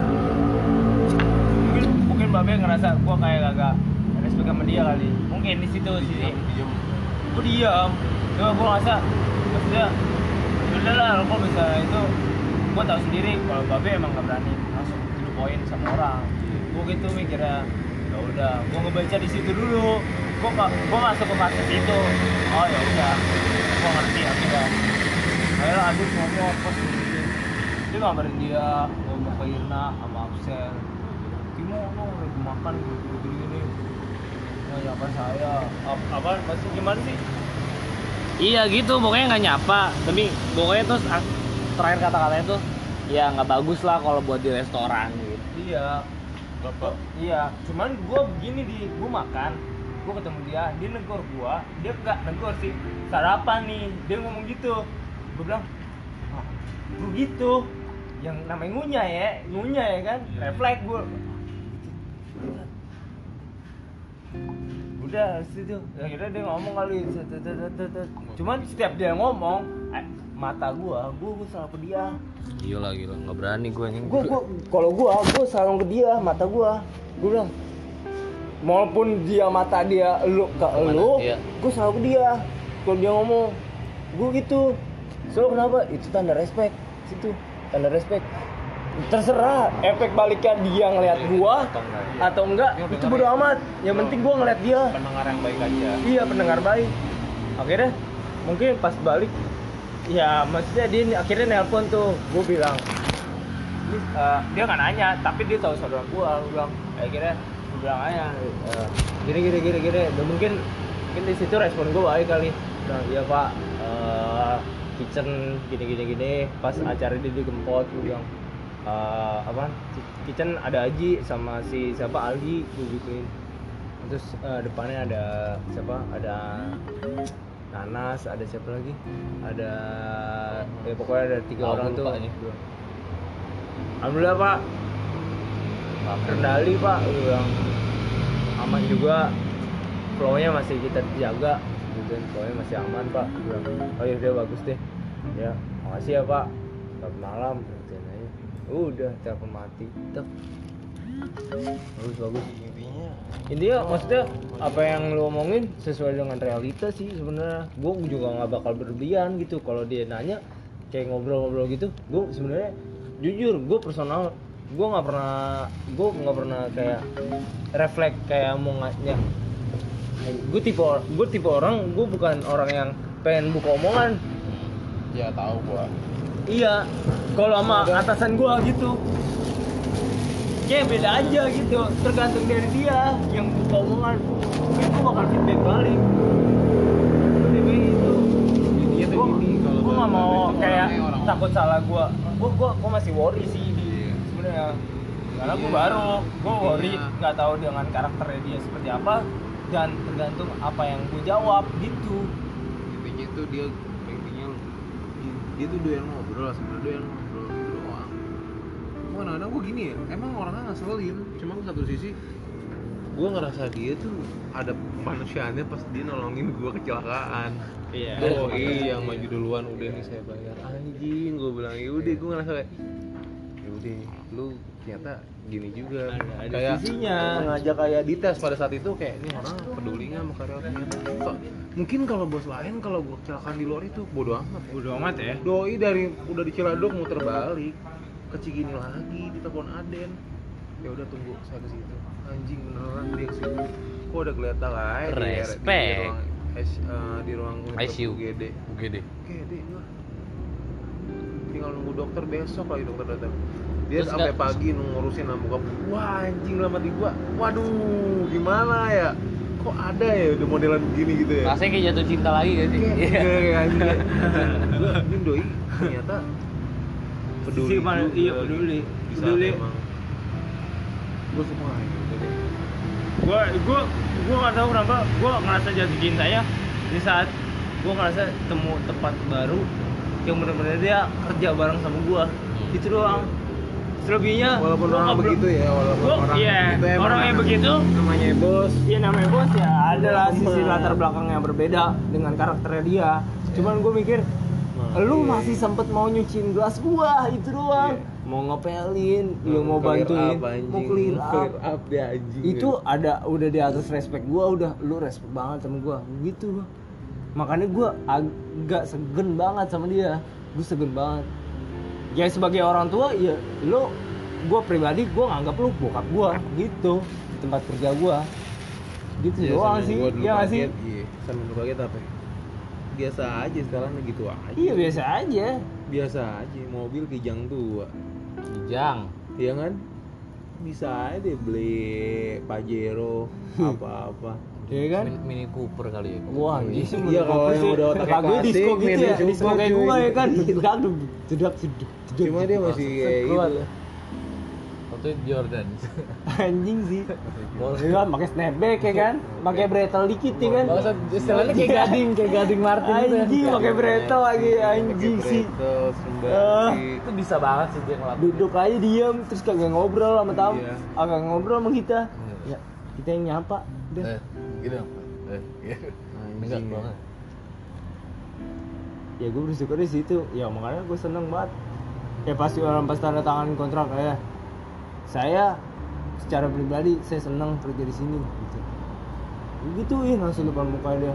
Mungkin Babe ngerasa gue kayak agak respect sama dia kali. Mungkin di situ sih. Gue diam. Cuma gue ngerasa, maksudnya udah lah, kok bisa itu. Gue tahu sendiri kalau Babe emang nggak berani langsung to poin sama orang. Gue gitu mikirnya. Ya udah, gue ngebaca di situ dulu. Gue masuk ke fase situ. Oh ya udah, gue ngerti akhirnya. Akhirnya Adit ngomong pas dia ngabarin dia ngomong ke Irna sama Absel. Timo lo lagi makan gini. Nah, nyapa saya. Apa masih gimana sih? Iya gitu, pokoknya nggak nyapa. Tapi pokoknya terus terakhir kata-katanya tuh, ya nggak bagus lah kalau buat di restoran gitu. Iya. Bapak. Iya, cuman gue begini gue makan, gue ketemu dia negor gue, dia nggak negor sih, sarapan nih, dia ngomong gitu, gue bilang, gue gitu, yang namanya ngunyah ya kan, refleks gue, udah situ, akhirnya dia ngomong kali, cuman setiap dia ngomong, mata gue selalu ke dia. Gila, nggak berani gue nih. Kalau gue selalu ke dia, mata gue bilang, maupun dia mata dia lu ke lu, iya. Gue selalu ke dia. Kalau dia ngomong, gue gitu. So kenapa? Itu tanda respect. Situ tanda respect. Terserah efek baliknya dia ngeliat gua atau enggak, itu bodo amat. Yang penting gua ngeliat dia. Pendengar yang baik aja. Iya, pendengar baik. Akhirnya mungkin pas balik, ya maksudnya dia akhirnya nelpon tuh. Gue bilang, Dia nggak nanya, tapi dia tahu saudara gua bilang, akhirnya gue bilang aja, gini. Dan mungkin di situ respon gua baik kali. Nah, iya Pak, kitchen gini. Pas acara dia digempot, gue bilang, kitchen ada Aji sama si siapa Aldi, gue gituin. Terus depannya ada siapa? Ada Nanas, ada siapa lagi? Ada pokoknya ada 3 orang tuh. Alhamdulillah Pak, kendali Pak, gue bilang aman juga, flow-nya masih kita jaga, gitu, flow-nya masih aman Pak. Gue bilang, oh ya udah bagus deh, ya makasih ya Pak, selamat malam, gitu aja. Udah telepon mati, tek. Bagus. Intinya maksudnya apa yang lu omongin sesuai dengan realita sih sebenarnya. Gue juga nggak bakal berlebihan gitu kalau dia nanya kayak ngobrol-ngobrol gitu. Gue sebenarnya jujur, gue personal, gue nggak pernah kayak refleks kayak mau nanya. Gue tipe orang, gue bukan orang yang pengen buka omongan. Ya tahu gua. Iya, kalau sama atasan gue gitu, kayak beda aja gitu, tergantung dari dia yang buka omongan. Kayak gue bakal feedback balik. Intinya tuh gini, kalau Gue nggak mau kayak orang takut salah gue masih worry sih sebenarnya, karena gue baru, gue worry nggak tahu dengan karakternya dia seperti apa dan tergantung apa yang gue jawab gitu. intinya tuh dia tuh doyan ngobrol, sebenarnya doyan ngobrol gitu doang. Gue kadang-kadang gue gini ya, emang orangnya ngeselin, cuma satu sisi gue ngerasa dia tuh ada manusiaannya pas dia nolongin gue kecelakaan. Iya. Yang maju duluan, udah nih saya bayar. Anjing, gue bilang ya udah, gue ngerasa kayak ya udah, lu ternyata gini juga. Ada Kayak sisinya. ngajak kayak dites pada saat itu kayak ini orang peduli nggak sama karyawan ternyata. Mungkin kalau bos lain kalau gue kecelakaan di luar itu bodo amat ya. Doi udah di Ciladug muter balik ke Cigini lagi, ditelepon Aden. Ya udah tunggu saya ke situ. Anjing beneran dia ke situ. Kok udah kelihatan lah Respect. di ruang ICU. UGD gua tinggal nunggu dokter, besok lagi dokter datang. Dia Terus sampai pagi ngurusin bokap. Wah anjing lama di gua. Waduh, gimana ya? Kok ada ya udah modelan begini gitu ya? Rasanya kayak jatuh cinta lagi gak sih? Kayak anjing. Gua ini doi ternyata peduli. Iya peduli. Bisa emang. Gua semua gitu deh. Gue nggak tahu kenapa gue ngerasa jatuh cintanya di saat gue ngerasa temu tempat baru yang benar-benar dia kerja bareng sama gue. Itu doang. Selebihnya Walaupun gua orang nggak begitu ya, walaupun orang iya, begitu emang orang yang begitu namanya bos. iya namanya bos ya, ada lah Emang. sisi latar belakang yang berbeda dengan karakternya dia. Cuman gue mikir lu iya. masih sempet mau nyuciin gelas gua, itu doang. Iya. Mau ngepelin, lu mau Clear bantuin, up, anjing. mau clear up. dia anjing. Itu ada udah di atas respect gua, udah lu respect banget sama gua. Gitu gua. Makanya gua agak segen banget sama dia. Gua segen banget. Ya sebagai orang tua ya lu, gua pribadi gua nganggap lu bokap gua gitu di tempat kerja gua. Gitu Iya, doang sama sih. gua dulu Iya nggak sih? kaget, iya. Sama dulu kaget apa ya? Biasa aja sekarang gitu aja. Iya biasa aja. Biasa aja, mobil kijang tua. Kijang. Iya kan? Bisa aja beli Pajero apa-apa. Iya kan? Mini Cooper kali ya. Wah, iya Iya, kalau yang udah otaknya gue disco klasik, gitu ya, Mini disco Cooper, kayak cuy. gue ya kan. Iya. Aduh, jedak. Cuma dia masih kayak Keluar. gitu. Waktu itu Jordan. Anjing sih. Iya kan, pakai snapback ya kan, pakai bretel dikit ya kan. Bahasa istilahnya kayak gading Martin gitu. Anjing pakai bretel lagi, anjing sih. Bretel, sembari. Itu bisa banget sih dia ngelakuin. Duduk aja diem, terus kagak ngobrol sama tamu, Iya. agak ngobrol sama kita. Ya, kita yang nyapa. Udah. Gitu. Enggak Anjing. banget. Ya gue bersyukur di situ. Ya makanya gue seneng banget. Ya pasti orang pas tanda tangan kontrak ya. Saya secara pribadi saya senang kerja di sini gitu. Gituin langsung depan muka dia.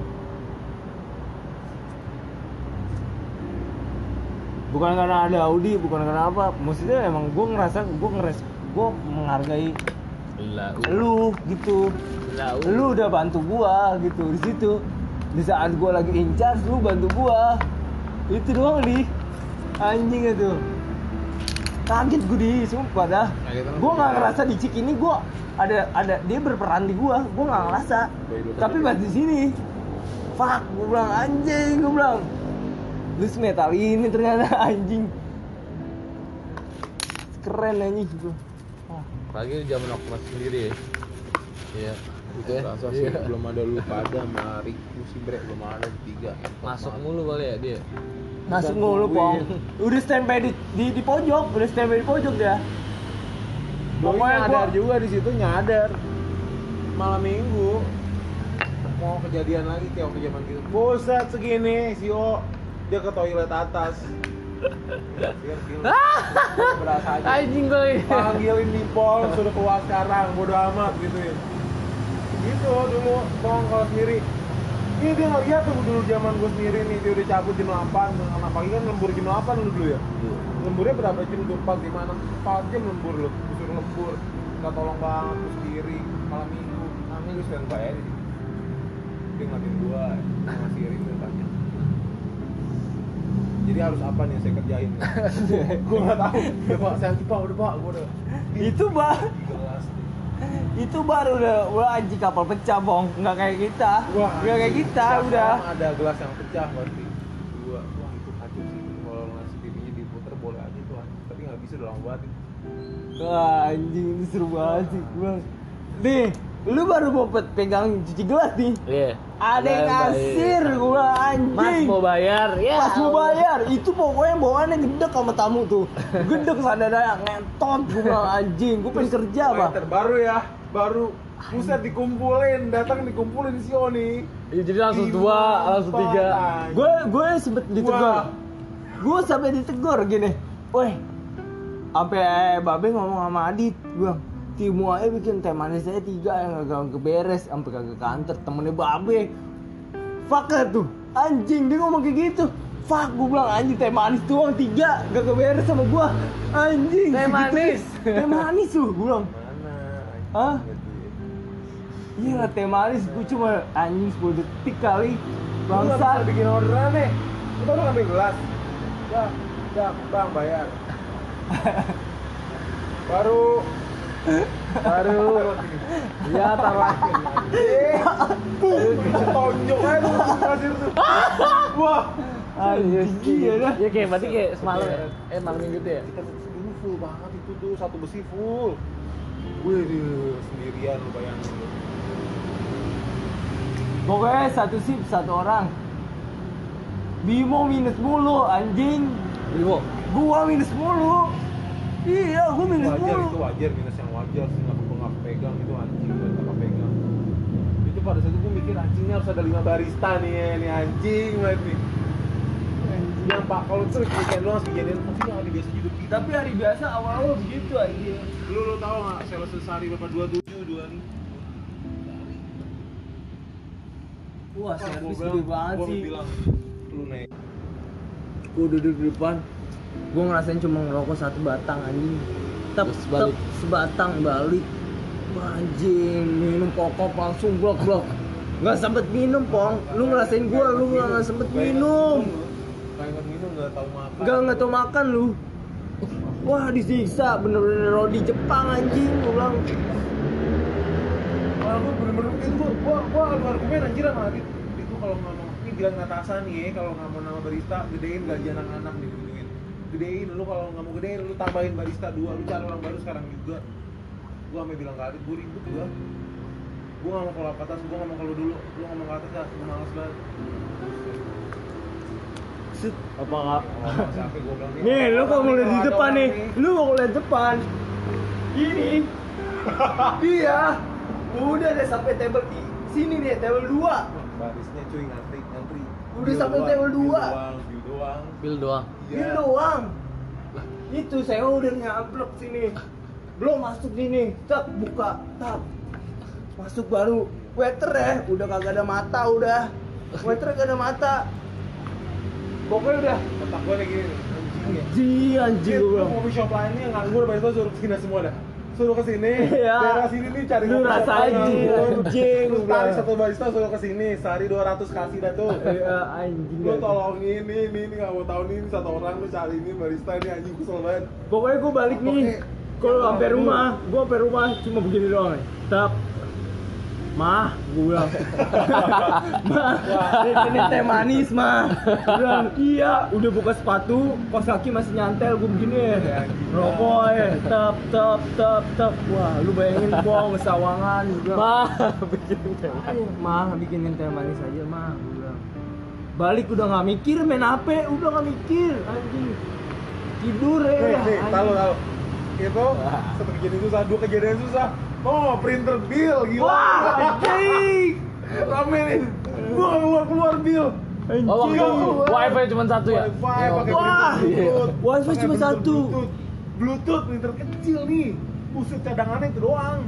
Bukan karena ada Audi, bukan karena apa. Maksudnya emang gue menghargai lu gitu. Lu udah bantu gua gitu di situ. Di saat gua lagi in charge, lu bantu gua. Itu doang di anjing itu. Kaget gue di, sumpah dah. Gua nggak ngerasa di Cik ini gua ada dia berperan di gua nggak ngerasa. Tapi pas di sini, fuck, gua bilang anjing, gua bilang. Lu metal ini ternyata anjing. Keren anjing gua. Pagi zaman aku masih sendiri ya. Iya. Gitu ya. Rasa sih belum ada lu pada sama Riku sih bre, belum ada tiga. Masuk mulu kali ya dia. Masuk mulu, Pong. Udah standby di pojok, udah standby di pojok dia. Pokoknya nyadar juga di situ nyadar. Malam minggu mau kejadian lagi kayak waktu zaman gitu. Buset segini si O dia ke toilet atas. Berasa aja. Anjing gue. Panggilin di pol suruh keluar sekarang, bodo amat gitu ya. Gitu dulu Pong kalau sendiri. Ini dia nggak lihat tuh dulu zaman gue sendiri nih, dia udah cabut jam 8, karena pagi kan lembur jam 8 lu dulu ya. Lemburnya berapa jam tuh? 4 gimana? 4 jam lembur lu, disuruh lembur. Nggak tolong banget, terus sendiri, malam minggu. Malam minggu sedang bayar di situ. Dia ngeliatin gua, ngasih ring dia tanya. Jadi harus apa nih yang saya kerjain? Gua nggak tahu. Udah pak, saya pak, udah pak, gua udah. Itu bah, Jelas. itu baru udah anjing kapal pecah, Bong. Nggak kayak kita. Nggak kayak kita Siapa udah. ada gelas yang pecah pasti. Wah itu kacau sih. Kalau ngasih TV-nya diputer boleh aja tuh, tapi nggak bisa udah lama banget. Wah, anjing ini seru banget sih. Gua. Nih, lu baru mau pegang cuci gelas nih. Iya. Ada yang ngasir gua anjing. Mas mau bayar. Ya. Pas mau bayar, itu pokoknya bawaannya gedek sama tamu tuh. Gedek sadadanya ngentot gua bilang anjing, gua pengen kerja, Pak. Terbaru ya, baru pusat dikumpulin, datang dikumpulin si Oni. Iya, jadi langsung 2, langsung 3. Gue sempet ditegur. Gue sampai ditegur gini. Woi. Sampai Babe ngomong sama Adit, gua Timu aja bikin teh manis saya 3 yang gak keberes sampai kagak kantor temennya Babe. Fuck tuh. Anjing dia ngomong kayak gitu. Fuck, gue bilang anjing teh manis doang 3 gak keberes sama gua. Anjing. Teh manis. Teh manis tuh gue bilang. Mana? Hah? Iya teh manis, gue cuma anjing 10 detik kali. Bangsa Bangsa. bikin orderan nih. Kita udah ngambil gelas. Ya, bang bayar. baru Ya taruh. Tonjok aja tuh kasir tuh. Wah. Anjing iya dah. Ya kayak berarti kayak semalam ya. Malam minggu tuh ya. Kita dulu full banget itu tuh, satu besi full. Wih, sendirian lu bayangin lu. Pokoknya satu sip 1 orang. Bimo minus mulu anjing. Bimo. Gua minus mulu. Iya, gua minus Wajar mulu. itu wajar, minus yang wajar sih, nggak pegang itu anjing, nggak pegang. Itu pada saat itu gue mikir anjingnya harus ada 5 barista nih ya, nih anjing banget nih. Yang pak kalau tuh weekend lu harus kejadian pasti yang hari biasa hidup kita. Tapi hari biasa awal-awal begitu anjing. Lu tahu nggak sales sehari berapa 27 nih? Wah, servis gede banget Gua sih. bilang lu naik. Gua duduk di depan. Gua ngerasain cuma ngerokok 1 batang anjing. Terus balik. Sebatang balik. Wah, anjing, minum kokop langsung blok-blok. Nggak sempet minum, Pong. Lu ngerasain gua, lu nggak sempet minum. Kayak minum nggak tahu makan. Nggak tahu makan lu. Wah, disiksa bener-bener rodi Jepang anjing, gua bilang. Wah, gue bener-bener itu gua adu argumen anjir sama Adit. Itu kalau ngomong ini bilang atasan nih ya, kalau nggak mau nama barista gedein gaji anak-anak nih gituin. Gedein lu, kalau nggak mau gedein lu tambahin barista 2, lu cari orang baru sekarang juga. Gua sampai bilang ke Adit, gua ribut gua. Gua nggak mau kalau ke atas, gua nggak mau kalau dulu. Lu ngomong ke atas ya, gua males banget. Apa enggak? Sampai gua bilang Nih, lu kalau mulai di ada depan orang nih, lu mau mulai depan. Ini. Dia. Udah deh sampai table sini nih, table 2. barisnya cuy ngantri. Udah Bil sampai doang, table bil 2. doang. Bil doang. Iya. Ini doang. Itu saya udah nyablok sini. Belum masuk sini. Tap buka, tap. Masuk baru. Waiter ya, udah kagak ada mata udah. Waiter kagak ada mata. Pokoknya udah Otak gua lagi anjing Gua gua. kopi shop lainnya yang nganggur barista suruh kesini semua dah. Suruh kesini, Iya. daerah sini nih cari Lu kopi shop rasain, lain nganggur. anjing, Terus gua. tarik 1 barista suruh kesini, sehari 200 kasih dah tuh. Iya anjing. Lu tolongin ini nggak mau tahu nih, ini 1 orang lu cari ini barista ini anjing kesel banget. Pokoknya gua balik nih. Kalau sampai rumah, gua sampai rumah cuma begini doang. Tap. Mah, gue bilang. Mah, ini teh manis, Mah. Gua bilang, iya, udah buka sepatu, kos kaki masih nyantel, gue begini. Rokok ya, tap. Wah, lu bayangin Bong, sawangan. Gua bilang, Mah, bikin teh. Mah, bikinin teh manis aja, Mah. Gua bilang. Balik udah nggak mikir, main HP, udah nggak mikir, anjing. Tidur ya. Nih, anjing. tahu. Itu satu kejadian susah, 2 kejadian susah. Oh, printer bill gila. Wah, anjing. Rame nih. Gua nggak keluar bill. Oh, waktu itu wifi cuma 1 ya? Wifi pakai Wah, printer Bluetooth. wifi Pakai cuma printer 1. Bluetooth printer kecil nih. Buset, cadangannya itu doang.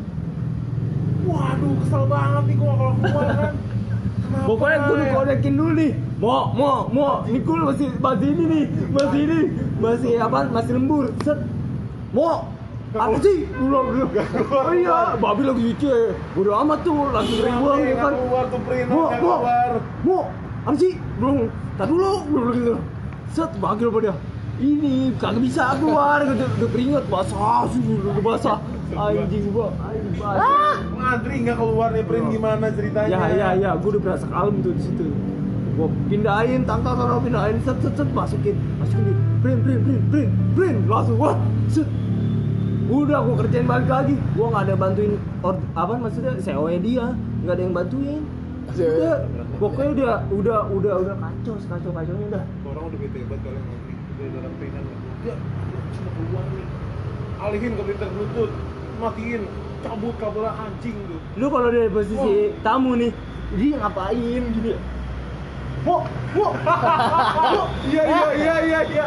Waduh, kesel banget nih gua kalau keluar kan. Kenapa? Pokoknya gue udah konekin dulu nih. Mau. Ini gue masih ini nih. Masih apa? Masih lembur. Set. Mau. Apa sih? Dulu. Oh iya, babi lagi lucu ya. Bodo amat tuh, langsung ribuan ya kan. Keluar tuh printer, Mau. keluar. Apa sih? Belum. Tar dulu gitu. Set, bagi apa dia? Ini kagak bisa keluar, udah keringet basah, basah. Anjing gua, anjing basah. Ngantri nggak keluar nih print gimana ceritanya? Ya, gue udah berasa kalem tuh di situ. Gue pindahin, taruh pindahin, set, masukin di print, langsung wah, set. Udah gue kerjain balik lagi. Gue nggak ada bantuin maksudnya CEO-nya dia, nggak ada yang bantuin. Udah, pokoknya udah kacaunya udah. Orang udah bete banget kalian ngantri, udah dalam printan udah cuma keluar nih. Alihin ke printer Bluetooth, matiin, cabut kabelnya anjing tuh. Lu kalau dari posisi tamu nih, dia ngapain gini? Mo. Iya.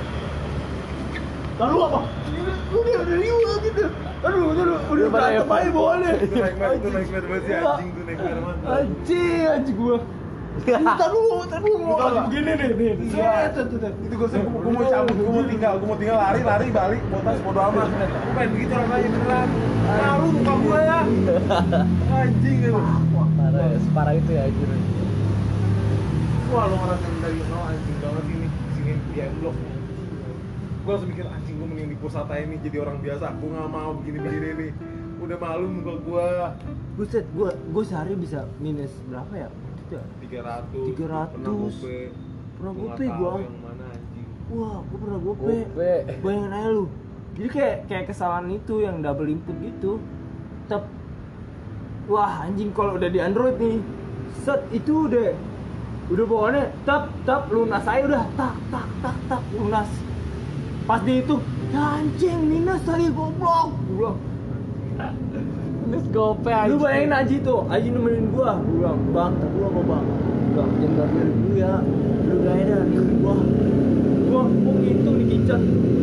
Lalu apa? Udah riuh gitu. Aduh, udah berantem aja boleh. Itu naik banget sih anjing tuh naik banget. Anjing gua. Entar dulu. Begini nih. Iya. Itu gue mau cabut, gue mau tinggal lari balik, botas bodo amat. Gue pengen begitu rasanya beneran. Ngaruh muka gue ya. Anjing itu. Separah itu ya anjir. Wah, lo ngerasain dari nol anjing banget ini. Sini di M-Block. Gue langsung mikir anjing, gue mending di pusat aja nih jadi orang biasa. Gue nggak mau begini nih. Udah malu muka gue. Buset, gua sehari bisa minus berapa ya? 300. 300. Pernah gope gua. Yang mana anjing? Wah, gua pernah gope. Bayangin aja lu. Jadi kayak kesalahan itu yang double input gitu. Wah, anjing kalau udah di Android nih. Set itu udah Udah pokoknya tap lunas aja udah tak lunas. Pas dihitung, ya anjing minus tadi goblok. Gua bilang, Minus gope aja. lu bayangin Aji tuh, Aji nemenin gua bilang, bang, tak gua apa bang? Bang, jangan dari dulu ya, lu gak ada nih gua ngitung di kitchen.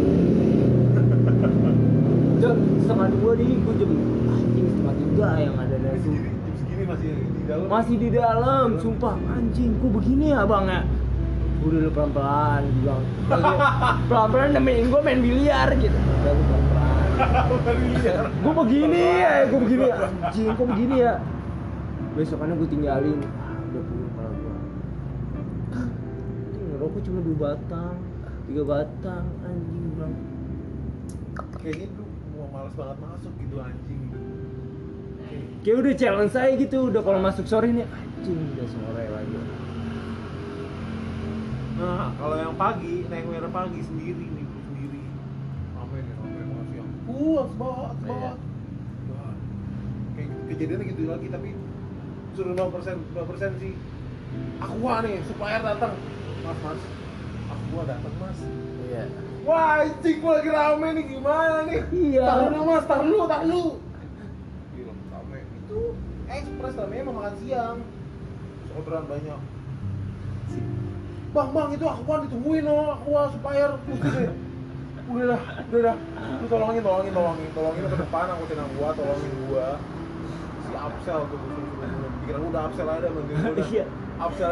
Jam 1:30 nih, gua jam anjing 2:30 yang ada dari Jam segini masih di dalam. masih di dalam, sumpah anjing, kok begini ya bang ya? Udah lu pelan-pelan, bilang pelan-pelan nemenin gua main biliar gitu. Udah lu pelan-pelan. Gue begini ya, anjing, kok begini ya? Besokannya gue tinggalin, udah puyeng kepala gue. Ngerokok cuma 2 batang, 3 batang, anjing bilang. Kayaknya tuh mau males banget masuk gitu anjing. Kayak udah challenge saya gitu, udah kalau masuk sore nih, anjing udah sore lagi. Nah, kalau yang pagi, naik merah pagi sendiri nih, sendiri. Rame banget siang. Harus bawa. Iya. Wah, kayak kejadiannya gitu lagi, tapi suruh 0% sih. Aqua nih, supplier datang. Mas, Aqua datang mas. Iya. Wah, anjing gua lagi rame nih, gimana nih? Iya. Tar dulu mas, tar dulu. Gila, rame. Itu ekspres namanya mau makan siang. Orderan banyak. Bang, itu Aqua ditungguin Aqua supplier. Udah dah. Lu tolongin ke depan, angkutin gua, tolongin gua. Si Absel tuh pikiran udah Absel ada manggil gua udah. Iya. Absel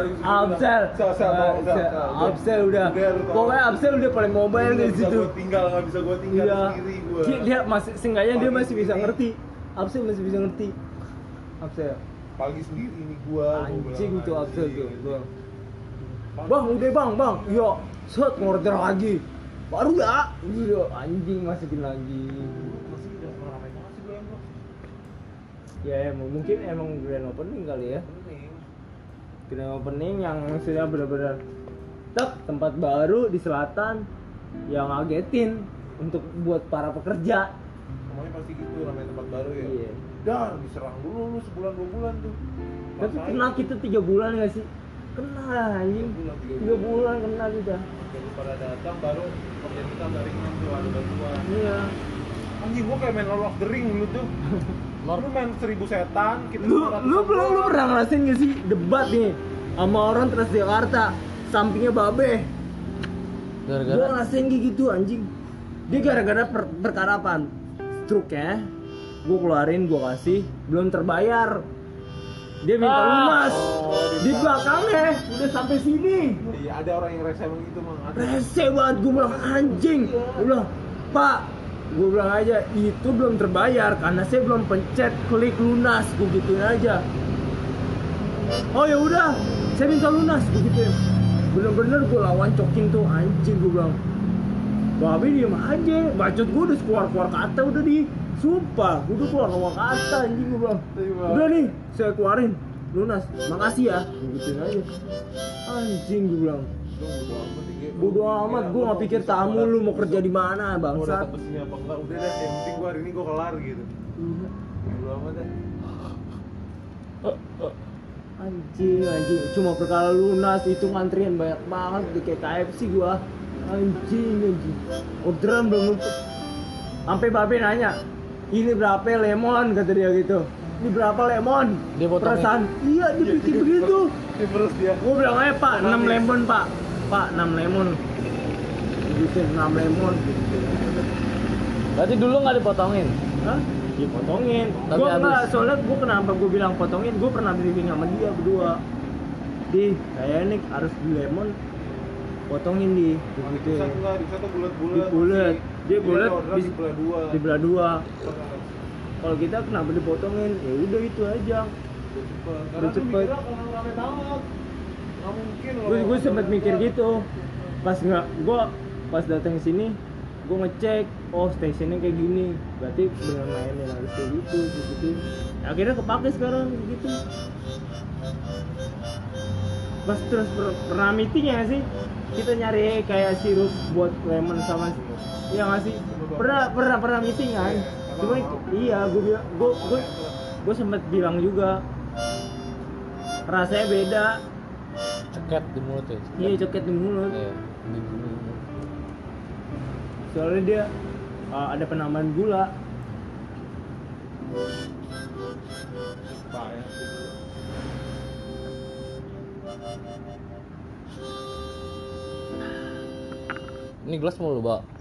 Absel udah. Pokoknya Absel udah paling mobile di situ. Nggak bisa gua tinggal Iya. sendiri gua. Dia masih, seenggaknya dia masih bisa Pagi ngerti. Absel masih bisa ngerti. Absel. Pagi sendiri ini gua Anjing bilang, tuh Absel anjing. tuh. Bang, udah bang. Iya. Set ngorder lagi. Baru ya. Iya, anjing masukin lagi. Masih udah ramai banget sih gua. Ya mungkin emang grand opening kali ya. Pening. Grand opening yang sudah benar-benar tempat baru di selatan yang ngagetin untuk buat para pekerja. Semuanya pasti gitu, ramai tempat baru ya. Iya. Dar, diserang dulu lu sebulan 2 bulan tuh. Tapi Rasain. kena kita 3 bulan gak sih? Kena anjing. 3 bulan kena kita. Jadi pada datang baru kerja kita dari ringan tuh ada bantuan. Iya. Anjing gua kayak main Lord of the Ring dulu tuh. Lu main 1000 setan, kita Lu 500 pernah ngerasain gak sih debat nih sama orang Transjakarta sampingnya Babe? Gua Gara-gara ngerasain kayak gitu anjing. Dia gara-gara perkara apaan? Stroke ya. Gua keluarin, gua kasih, belum terbayar. Dia minta lunas. Di belakangnya udah sampai sini. Iya, ada orang yang rese emang gitu, Mang. Ada. Rese banget, gue bilang anjing. Gue bilang, Pak, gue bilang aja itu belum terbayar karena saya belum pencet klik lunas, gue gituin aja. Oh ya udah, saya minta lunas, gue gituin. Bener-bener gue lawan cokin tuh anjing, gue bilang. Babe diem aja, bacot gue udah keluar kata udah di. Sumpah, gue udah keluar kata anjing, gue bilang. Udah nih, saya keluarin lunas, makasih ya, gue gituin aja. Anjing, gue bilang. Bodo amat, gue gak pikir tamu lu mau kerja di mana, Gua bangsat. datang kesini apa enggak, udah deh, yang penting gua hari ini gua kelar gitu. Bodo amat deh. Anjing, cuma perkara lunas itu ngantrian banyak banget di kayak KFC gua. Anjing. Orderan belum nutup. Sampai Babe nanya, ini berapa lemon, kata dia gitu. Ini berapa lemon? Dia potongin. Perasaan, iya dia pikir begitu. Ini terus dia. Gua bilang aja Pak, 6 lemon Pak. Pak, 6 lemon. Gitu, 6 lemon. berarti dulu nggak dipotongin. Hah? Dipotongin. Tapi Gua habis. enggak, soalnya gua kenapa gua bilang potongin, gua pernah briefing sama dia berdua. Di, kayaknya nih harus di lemon potongin di gitu. Bisa enggak, bisa tuh bulat-bulat. Di bulat. Dia Jadi bulat ada orderan di di belah dua. belah dua. Kalau kita kenapa dipotongin? Ya udah itu aja. Karena tuh cepet. mikirnya kalau rame banget. Nggak mungkin loh. Gue sempet mikir gitu. Pas datang ke sini, gue ngecek, oh stasiunnya kayak gini, berarti bener mainin harus kayak gitu. Akhirnya kepake sekarang gitu. Pas terus pernah meeting ya nggak sih? Kita nyari kayak sirup buat lemon sama, iya nggak sih? Pernah meeting kan? Cuma iya, gue sempet bilang juga rasanya beda. ceket di mulut ya. Iya, coket di mulut. Iya. Soalnya dia ada penambahan gula. Ini gelas mau lu bawa.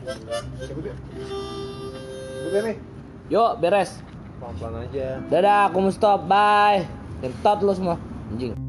Udah nih, Yuk, beres. pelan-pelan aja. Dadah, aku mau stop. Bye. Ngentot lu semua. Anjing.